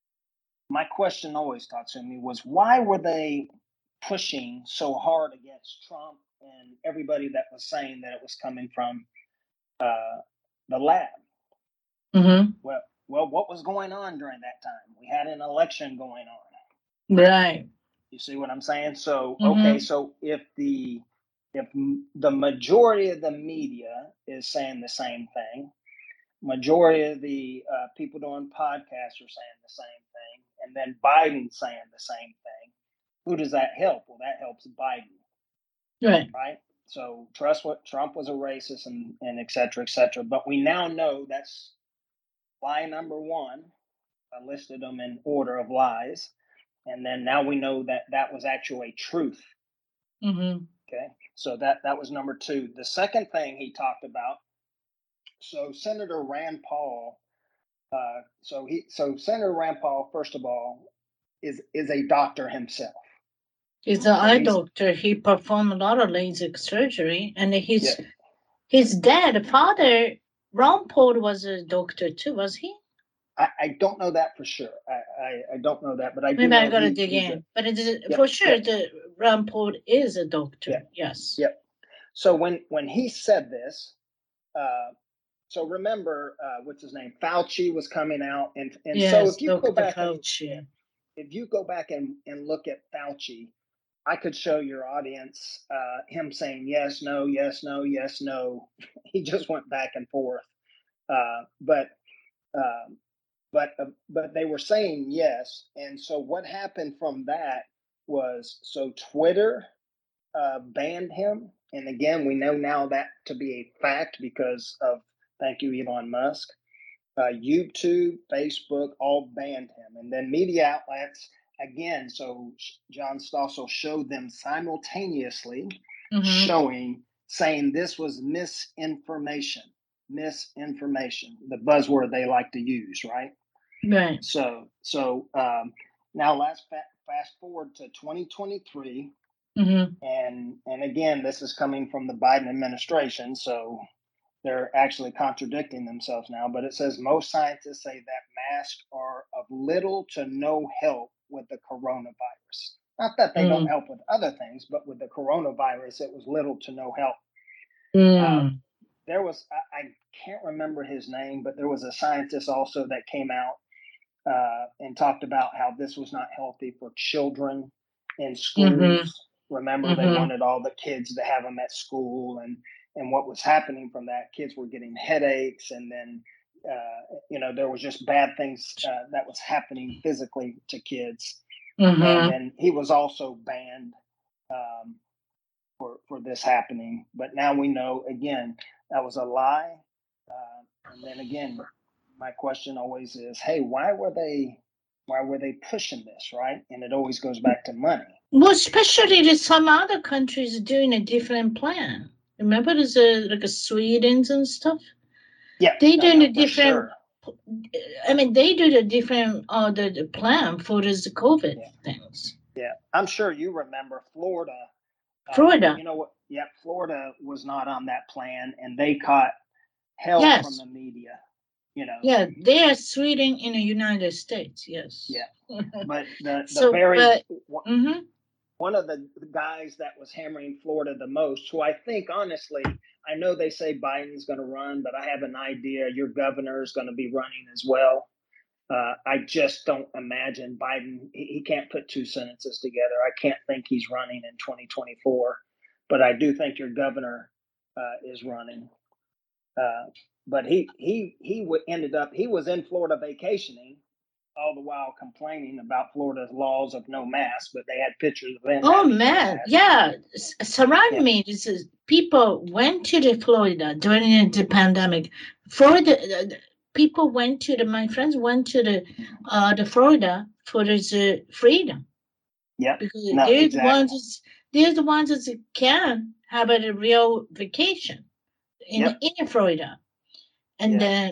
my question always, Tatsumi, was why were they pushing so hard against Trump and everybody that was saying that it was coming from uh, the lab? Mm-hmm. Well, well, what was going on during that time? We had an election going on. Right. You see what I'm saying? So, Mm-hmm. okay, so if the if the majority of the media is saying the same thing, majority of the uh, people doing podcasts are saying the same thing, and then Biden's saying the same thing, who does that help? Well, that helps Biden, Right. right? So trust what Trump was a racist, and, and et cetera, et cetera. But we now know that's lie number one. I listed them in order of lies. And then now we know that that was actually truth. Mm-hmm. Okay, so that that was number two. The second thing he talked about. So Senator Rand Paul. Uh, so he so Senator Rand Paul, first of all, is is a doctor himself. He's an So eye he's doctor. He performed a lot of LASIK surgery, and his yeah. his dad, father, Ron Paul, was a doctor too, was he? I, I don't know that for sure. I, I, I don't know that, but I do Maybe I know gotta he, dig he's in. a But it is yep, for sure yep, the Ron Paul is a doctor. yep, Yes. yep. So when when he said this, uh, so remember, uh, what's his name? Fauci was coming out, and and Yes, so if you Doctor go back and Fauci. yeah, if you go back and, and look at Fauci, I could show your audience uh, him saying yes, no, yes, no, yes, no. He just went back and forth, uh, but uh, but uh, but they were saying yes, and so what happened from that was so Twitter uh, banned him. And again, we know now that to be a fact because of, thank you, Elon Musk. Uh, YouTube, Facebook, all banned him. And then media outlets, again, so John Stossel showed them simultaneously, mm-hmm. showing, saying this was misinformation. Misinformation, the buzzword they like to use, right? Right. So, so um, now let's fa- fast forward to twenty twenty-three. Mm-hmm. And and again, this is coming from the Biden administration, so they're actually contradicting themselves now. But it says most scientists say that masks are of little to no help with the coronavirus. Not that they mm. don't help with other things, but with the coronavirus, it was little to no help. Mm. Uh, there was, I, I can't remember his name, but there was a scientist also that came out uh, and talked about how this was not healthy for children in schools. Mm-hmm. Remember, mm-hmm. they wanted all the kids to have them at school, and and what was happening from that, kids were getting headaches, and then uh, you know there was just bad things uh, that was happening physically to kids. Mm-hmm. And then he was also banned um, for for this happening. But now we know again that was a lie. Uh, and then again, my question always is, hey, why were they? Why were they pushing this, right? And it always goes back to money. Well, especially that some other countries are doing a different plan. Remember, there's a, like a Sweden's and stuff. Yeah, they no, doing no, a different. Sure. I mean, they do the different uh, the, the plan for this COVID yeah. things. Yeah, I'm sure you remember Florida. Florida. Uh, you know what? Yeah, Florida was not on that plan, and they caught hell yes. from the media. You know. Yeah, they are Sweden in the United States. Yes. Yeah, but the the so, very but, one, mm-hmm. one of the guys that was hammering Florida the most, who I think honestly, I know they say Biden's going to run, but I have an idea your governor is going to be running as well. Uh, I just don't imagine Biden. He, he can't put two sentences together. I can't think he's running in twenty twenty-four, but I do think your governor uh, is running. Uh, but he he he w- ended up he was in Florida vacationing, all the while complaining about Florida's laws of no mask. But they had pictures of him. Oh man, yeah. Surround yeah. me. This is people went to the Florida during the pandemic. Florida. Uh, people went to the my friends went to the uh the Florida for this uh, freedom. Yeah, because no, they're exactly. the ones that, they're the ones that can have a real vacation in yep. in Florida, and yeah. then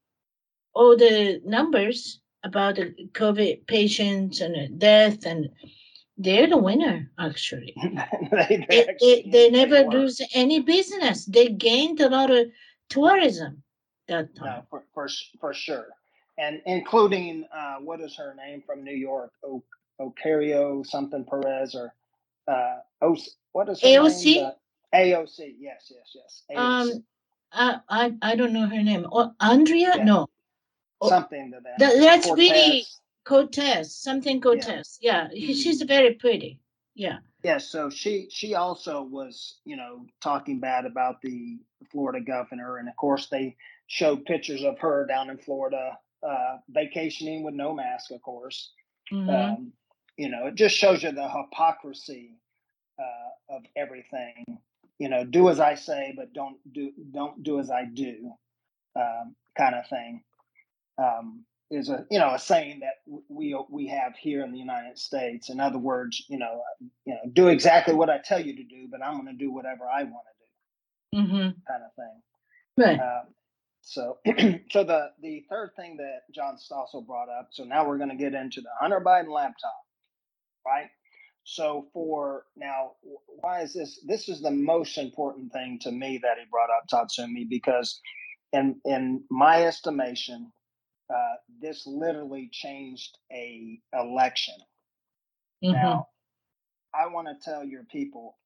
all the numbers about the COVID patients and the death, and they're the winner actually. they, they, actually they, they never they lose any business. They gained a lot of tourism that time. No, for for, for sure, and including uh, what is her name from New York, o- Ocario something Perez or uh, o- what is her A O C? name? The A O C. Yes, yes, yes. A O C. Um, I, I I don't know her name. Oh, Andrea? Yeah. No. Something to that. that that's Cortez. really Cortez. Something Cortez. Yeah, yeah. Mm-hmm. She's very pretty. Yeah. Yeah, so she she also was, you know, talking bad about the Florida governor, and of course they showed pictures of her down in Florida uh, vacationing with no mask, of course. Mm-hmm. Um, you know, it just shows you the hypocrisy uh, of everything. You know, do as I say, but don't do don't do as I do, um, kind of thing. Um, is a you know a saying that we we have here in the United States. In other words, you know, you know, do exactly what I tell you to do, but I'm going to do whatever I want to do, mm-hmm. kind of thing. Right. Um, so, so the the third thing that John Stossel brought up. So now we're going to get into the Hunter Biden laptop, right? So for now, why is this? This is the most important thing to me that he brought up, Tatsumi, because in in my estimation. Uh, this literally changed a election. Mm-hmm. Now, I want to tell your people,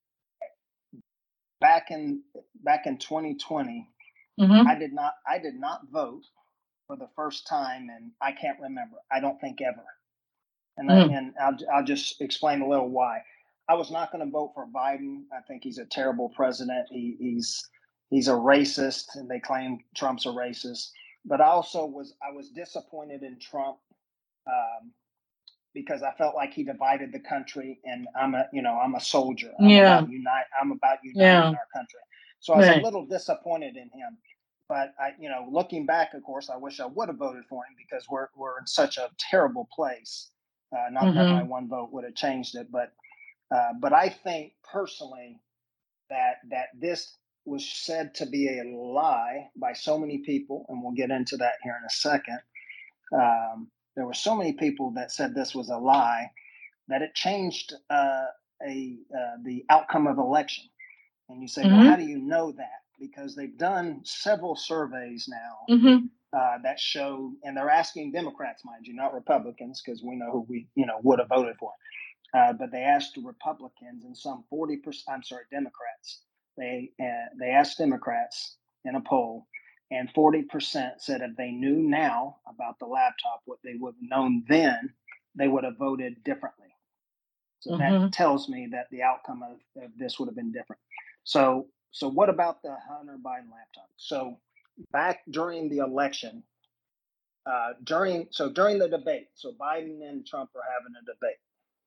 back in back in twenty twenty, mm-hmm. I did not I did not vote for the first time, and I can't remember. I don't think ever. And mm. I, and I'll I'll just explain a little why. I was not going to vote for Biden. I think he's a terrible president. He, he's he's a racist, and they claim Trump's a racist. But I also was I was disappointed in Trump um, because I felt like he divided the country, and I'm a, you know, I'm a soldier. I'm Yeah. about unite. I'm about uniting Yeah. our country. So I was Right. a little disappointed in him. But I, you know, looking back, of course, I wish I would have voted for him because we're we're in such a terrible place. Uh, not Mhm. that my one vote would have changed it, but uh, but I think personally that that this was said to be a lie by so many people, and we'll get into that here in a second. Um, there were so many people that said this was a lie that it changed uh, a uh, the outcome of election. And you say, Mhm. well, how do you know that? Because they've done several surveys now Mhm. uh, that show, and they're asking Democrats, mind you, not Republicans, because we know who we you know would have voted for. Uh, but they asked Republicans and some forty percent. I'm sorry, Democrats. They uh, they asked Democrats in a poll, and forty percent said if they knew now about the laptop what they would have known then, they would have voted differently. So Mhm. that tells me that the outcome of, of this would have been different. So so what about the Hunter Biden laptop? So back during the election, uh, during so during the debate, so Biden and Trump are having a debate.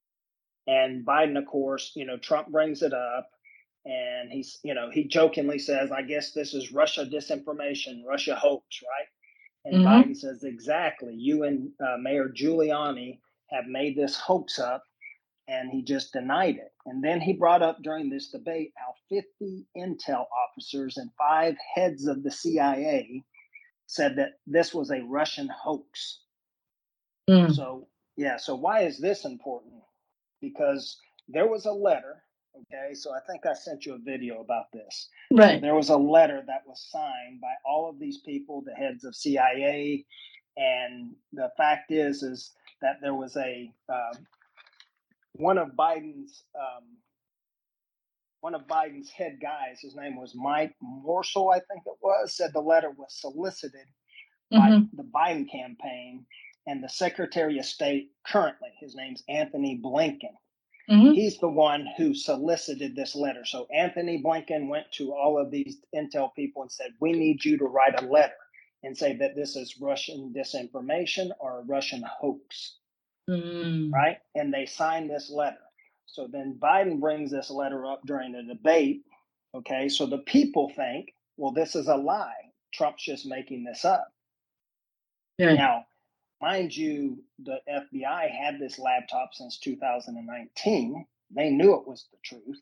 And Biden, of course, you know, Trump brings it up, and he's, you know, he jokingly says, I guess this is Russia disinformation, Russia hoax, right? And Mhm. Biden says, exactly. You and uh, Mayor Giuliani have made this hoax up, and he just denied it. And then he brought up during this debate how fifty intel officers and five heads of the C I A said that this was a Russian hoax. Mm. So, yeah, so why is this important? Because there was a letter, okay? So I think I sent you a video about this. So Right. there was a letter that was signed by all of these people, the heads of C I A, and the fact is, is that there was a um, one of Biden's um, one of Biden's head guys. His name was Mike Morsel, I think it was. Said the letter was solicited by Mhm. the Biden campaign and the Secretary of State currently. His name's Anthony Blinken. Mhm. He's the one who solicited this letter. So Anthony Blinken went to all of these intel people and said, we need you to write a letter and say that this is Russian disinformation or a Russian hoax, Mm. right? And they signed this letter. So then Biden brings this letter up during the debate. Okay, so the people think, well, this is a lie. Trump's just making this up. Right. Now, mind you, the F B I had this laptop since two thousand nineteen. They knew it was the truth,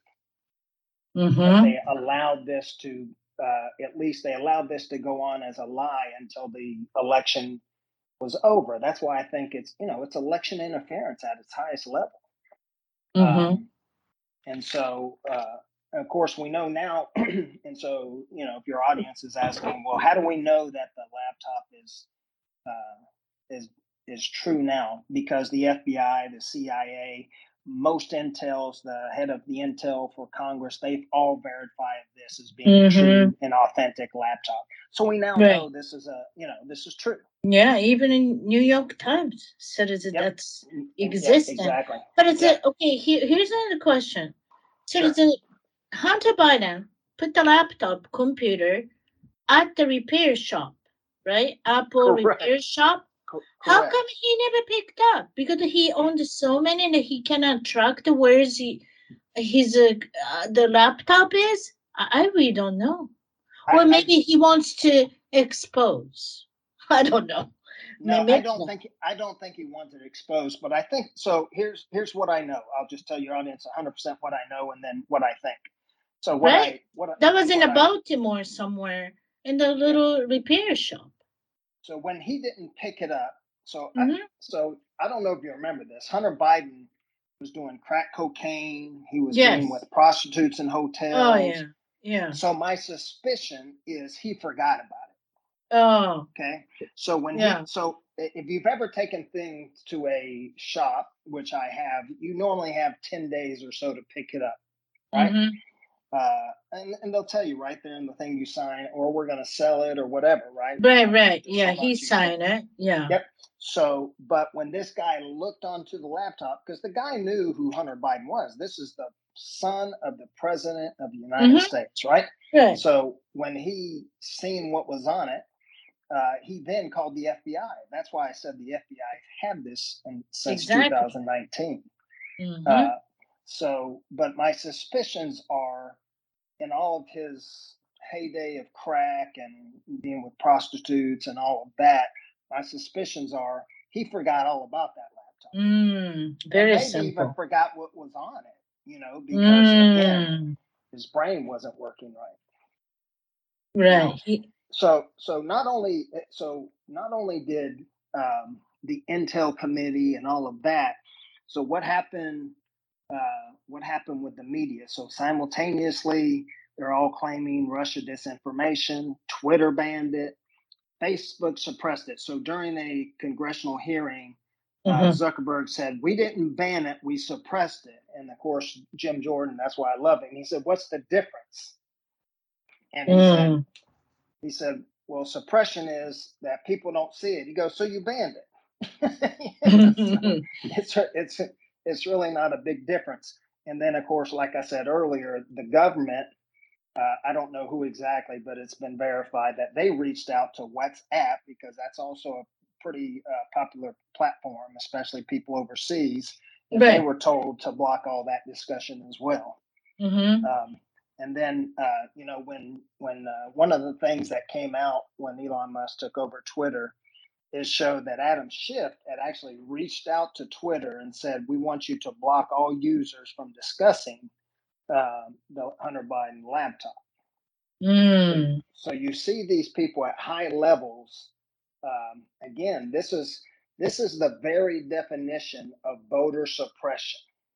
but Mhm. they allowed this to, uh, at least they allowed this to go on as a lie until the election was over. That's why I think it's, you know, it's election interference at its highest level. Mhm. Um, and so, uh, of course, we know now. And so, you know, if your audience is asking, well, how do we know that the laptop is uh, is is true now? Because the F B I, the C I A, most intels, the head of the intel for Congress, they've all verified this as being a Mhm. true and authentic laptop. So we now Right. know this is a, you know, this is true. Yeah, even in New York Times said it Yep. that's And- and- yeah, existent. exactly. But it's Yep. a, okay, here, here's another question. So Sure. it's a Hunter Biden put the laptop computer at the repair shop, right? Apple Correct. repair shop. Co- How correct. come he never picked up? Because he owned so many that he cannot track the where's he his uh, uh, the laptop is. I, I really don't know. I, Or I maybe he wants to expose. I don't know. no, Maybe I it's don't not. think I don't think he wanted it exposed, but I think so. Here's here's what I know. I'll just tell your audience one hundred percent what I know, and then what I think. So what Right? I what I, That was in what a I Baltimore somewhere in the yeah. little repair shop. So when he didn't pick it up, so I, Mhm. so I don't know if you remember this. Hunter Biden was doing crack cocaine. He was Yes. being with prostitutes in hotels. Oh yeah. Yeah. So my suspicion is he forgot about it. Oh. Okay. So when Yeah. he so if you've ever taken things to a shop, which I have, you normally have ten days or so to pick it up, right? Mhm. Uh, and, and they'll tell you right there in the thing you sign, or we're going to sell it or whatever, right? Right, Uh, right. for so Yeah, he much, you say. signed it. Yeah. Yep. So, but when this guy looked onto the laptop, because the guy knew who Hunter Biden was, this is the son of the president of the United Mhm. States, right? Right. So when he seen what was on it, uh, he then called the F B I. That's why I said the F B I had this in, since Exactly. two thousand nineteen. Mm-hmm. Uh, so, but my suspicions are, in all of his heyday of crack and being with prostitutes and all of that, my suspicions are he forgot all about that laptop. Mm, very and maybe simple. even forgot what was on it, you know, because Mm. again, his brain wasn't working right. Right. Now, He, so so not only so not only did um, the Intel committee and all of that. So what happened? Uh, what happened with the media? So simultaneously, they're all claiming Russia disinformation. Twitter banned it. Facebook suppressed it. So during a congressional hearing, uh, Mhm. Zuckerberg said, "We didn't ban it, we suppressed it." And of course, Jim Jordan, that's why I love him. He said, "What's the difference?" And he said, Mm. he said, "Well, suppression is that people don't see it." He goes, "So you banned it." You know, so it's it's it's really not a big difference. And then, of course, like I said earlier, the government. Uh, I don't know who exactly, but it's been verified that they reached out to WhatsApp because that's also a pretty uh, popular platform, especially people overseas. And they Right. were told to block all that discussion as well. Mm-hmm. Um, and then, uh, you know, when when uh, one of the things that came out when Elon Musk took over Twitter is showed that Adam Schiff had actually reached out to Twitter and said, "We want you to block all users from discussing uh, the Hunter Biden laptop." Mm. So you see these people at high levels. Um, again, this is this is the very definition of voter suppression.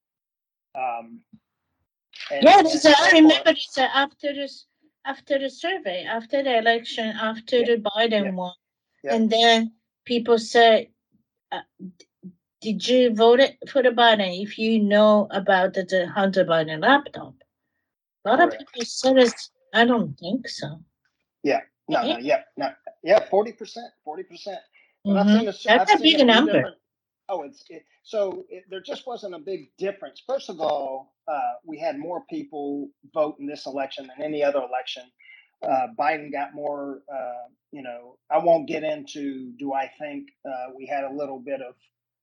Um, and, Yeah, and, this, I or, remember or, this, uh, after this, after the survey, after the election, after yeah, the Biden yeah, won, yeah. and then people said, uh, "Did you vote it for the Biden if you know about the, the Hunter Biden laptop?" A lot Correct. of people said, it's, "I don't think so." Yeah, no, no, yeah, no, yeah, forty percent, forty percent. But I've Mm-hmm. seen a, I've That's a seen a big few number. different. Oh, it's it, so it, there just wasn't a big difference. First of all, uh, we had more people vote in this election than any other election. Uh, Biden got more. Uh, you know, I won't get into. Do I think uh, we had a little bit of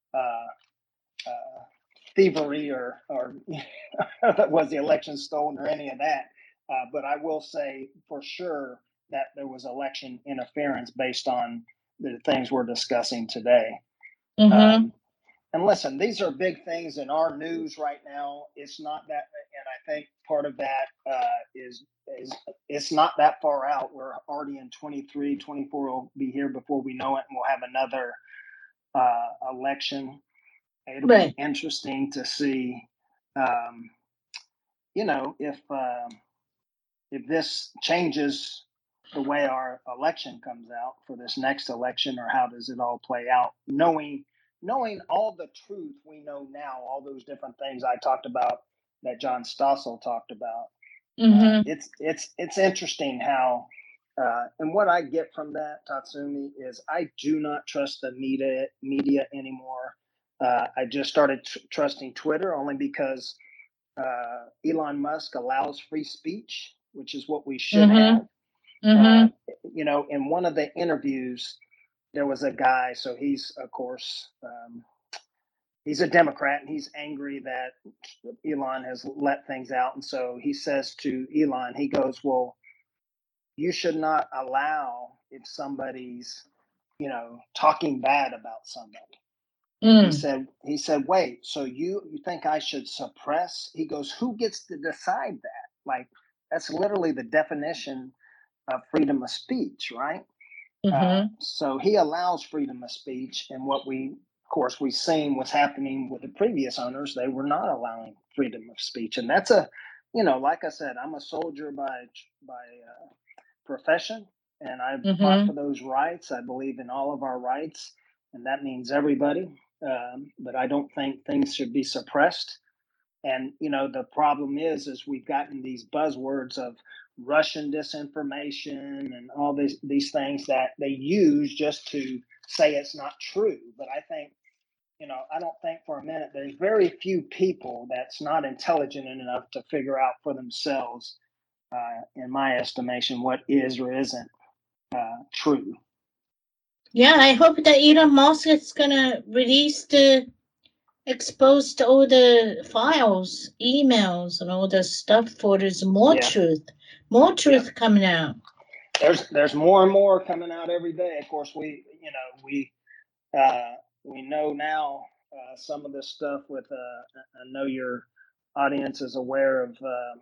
uh, uh, thievery or or was the election stolen or any of that? Uh, but I will say for sure that there was election interference based on the things we're discussing today. Mm-hmm. Um, and listen, these are big things in our news right now. It's not that, and I think part of that uh, is is it's not that far out. We're already in twenty-three, twenty-four will be here before we know it, and we'll have another uh, election. It'll Right. be interesting to see, um, you know, if um, if this changes the way our election comes out for this next election, or how does it all play out, knowing knowing all the truth we know now, all those different things I talked about that John Stossel talked about. Mm-hmm. Uh, it's it's it's interesting how, uh, and what I get from that, Tatsumi, is I do not trust the media media anymore. Uh, I just started tr- trusting Twitter only because uh, Elon Musk allows free speech, which is what we should Mm-hmm. have. Mm-hmm. Uh, you know, in one of the interviews, there was a guy. So he's, of course, um, he's a Democrat, and he's angry that Elon has let things out. And so he says to Elon, he goes, "Well, you should not allow if somebody's, you know, talking bad about somebody." And he Mm. said, he said, "Wait, so you you think I should suppress?" He goes, "Who gets to decide that? Like, that's literally the definition of freedom of speech, right?" Uh, Mm-hmm. so he allows freedom of speech, and what we, of course, we've seen was happening with the previous owners. They were not allowing freedom of speech, and that's a, you know, like I said, I'm a soldier by by uh, profession, and I've fought Mm-hmm. for those rights. I believe in all of our rights, and that means everybody. Um, but I don't think things should be suppressed. And you know, the problem is, is we've gotten these buzzwords of Russian disinformation and all these these things that they use just to say it's not true. But I think, you know, I don't think for a minute there's very few people that's not intelligent enough to figure out for themselves, uh, in my estimation, what is or isn't uh, true. Yeah, I hope that Elon Musk is gonna release the expose all the files, emails, and all the stuff for there's more Yeah. truth, more truth Yeah. coming out. There's there's more and more coming out every day. Of course, we you know we uh, we know now uh, some of this stuff with. Uh, I know your audience is aware of uh,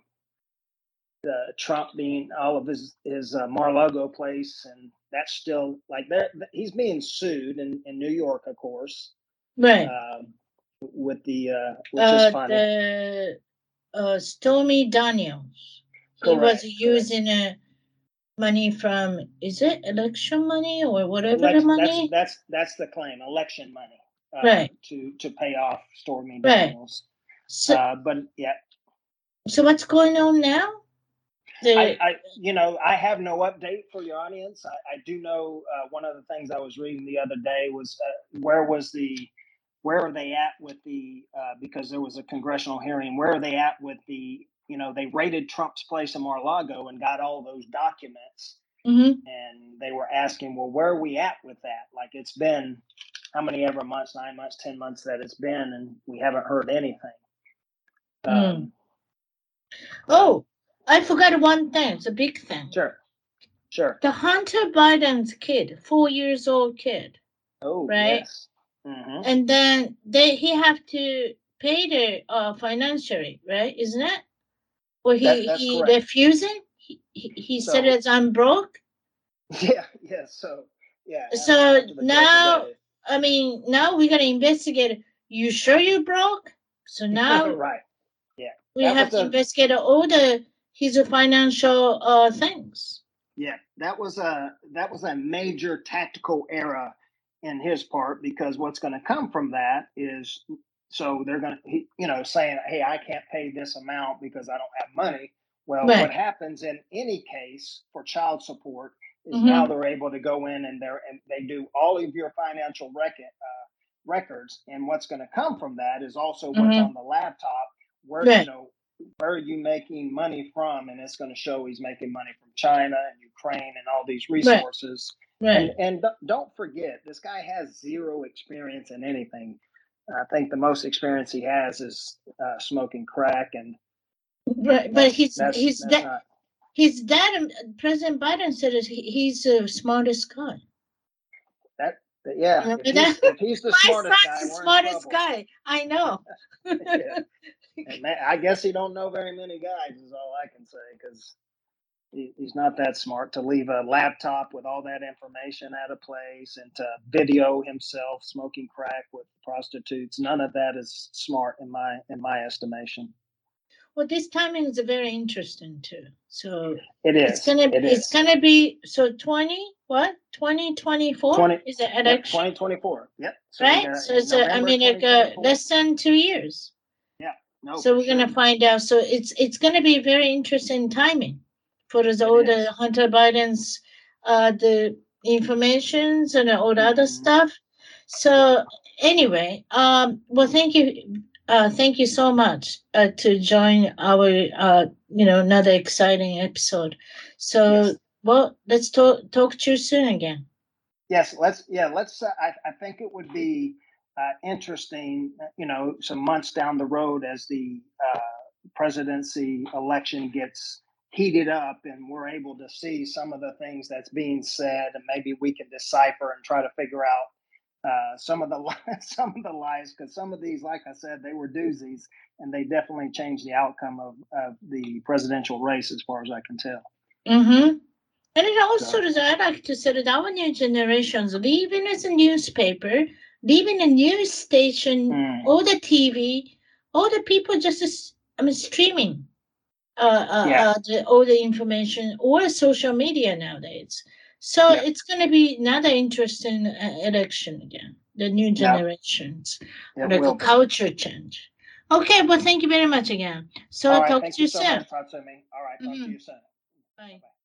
the Trump being all of his his uh, Mar-a-Lago place, and that's still like that. He's being sued in, in New York, of course, Right. uh, with the uh, which Uh, is funny. the uh, Stormy Daniels. He Correct, was using uh, money from, is it election money or whatever the Elect, that's money? that's that's the claim, election money, uh, Right. to to pay off Stormy Right. Daniels. So, Uh, but yeah, so what's going on now? The I, I you know I have no update for your audience. I, I do know uh, one of the things I was reading the other day was uh, where was the where are they at with the uh, because there was a congressional hearing. Where are they at with the you know they raided Trump's place in Mar-a-Lago and got all those documents, mm-hmm. and they were asking, well, where are we at with that? Like it's been how many ever months, nine months, ten months that it's been, and we haven't heard anything. Mm. Um, oh, I forgot one thing. It's a big thing. Sure, sure. The Hunter Biden's kid, four years old kid. Oh, right? Yes. Mm-hmm. And then they he have to pay the uh financially, right? Isn't it? Or he That that's he correct. refusing? He he, he So, said as I'm broke. Yeah, yeah. So yeah. So After the judge now, today. I mean, now we gotta investigate. You sure you broke? So now Right. Yeah. we That have was to a investigate all the his financial uh things. yeah. That was a that was a major tactical error in his part because what's going to come from that is so they're going to you know saying, hey, I can't pay this amount because I don't have money. Well, Right. what happens in any case for child support is Mhm. now they're able to go in and they're and they do all of your financial record uh, records, and what's going to come from that is also what's Mhm. on the laptop, where Right. you know where are you making money from, and it's going to show he's making money from China and Ukraine and all these resources. Right. And and don't forget, this guy has zero experience in anything. I think the most experience he has is uh, smoking crack, and Right, but that's he's that's he's that's that not his dad. um, President Biden said that he, he's the smartest guy. that. that yeah, Remember if he's that? if he's the My smartest guy, son's the we're in smartest trouble. guy. I know. Yeah, and that, I guess he don't know very many guys. Is all I can say because he, he's not that smart to leave a laptop with all that information at a place and to video himself smoking crack with prostitutes. None of that is smart in my in my estimation. Well, this timing is very interesting too. So It it's is. gonna It it's is. gonna be so twenty what twenty twenty four twenty is the Yep, election, twenty twenty-four. Yep. So right? uh, So in it's a, I November mean like uh, twenty twenty-four. less than two years. Yeah. No. So for we're sure. gonna find out. So it's it's gonna be very interesting timing for us, It all is. the Hunter Biden's uh the informations and all the other Mhm. stuff. So anyway, um, well, thank you, uh, thank you so much uh, to join our uh you know another exciting episode. So Yes. well, let's talk talk to you soon again. Yes. Let's. Yeah. Let's. Uh, I. I think it would be uh, interesting. You know, some months down the road as the uh, presidency election gets heated up and we're able to see some of the things that's being said, and maybe we can decipher and try to figure out uh, some of the some of the lies, because some of these, like I said, they were doozies, and they definitely changed the outcome of, of the presidential race, as far as I can tell. Mm-hmm. And it also So, is, I like to say that our new generations, even as a newspaper, leaving a news station, mm, or the T V, all the people just, is- I mean, streaming uh, uh, yeah, uh, the, all the information or social media nowadays. So yeah, it's going to be another interesting uh, election again, the new no, generations, it like a will be. culture change. Okay, well, thank you very much again. So All I'll right, talk thank to you you so soon. much, Tatsumi. All right, talk to Mhm. you soon. Bye. Bye-bye.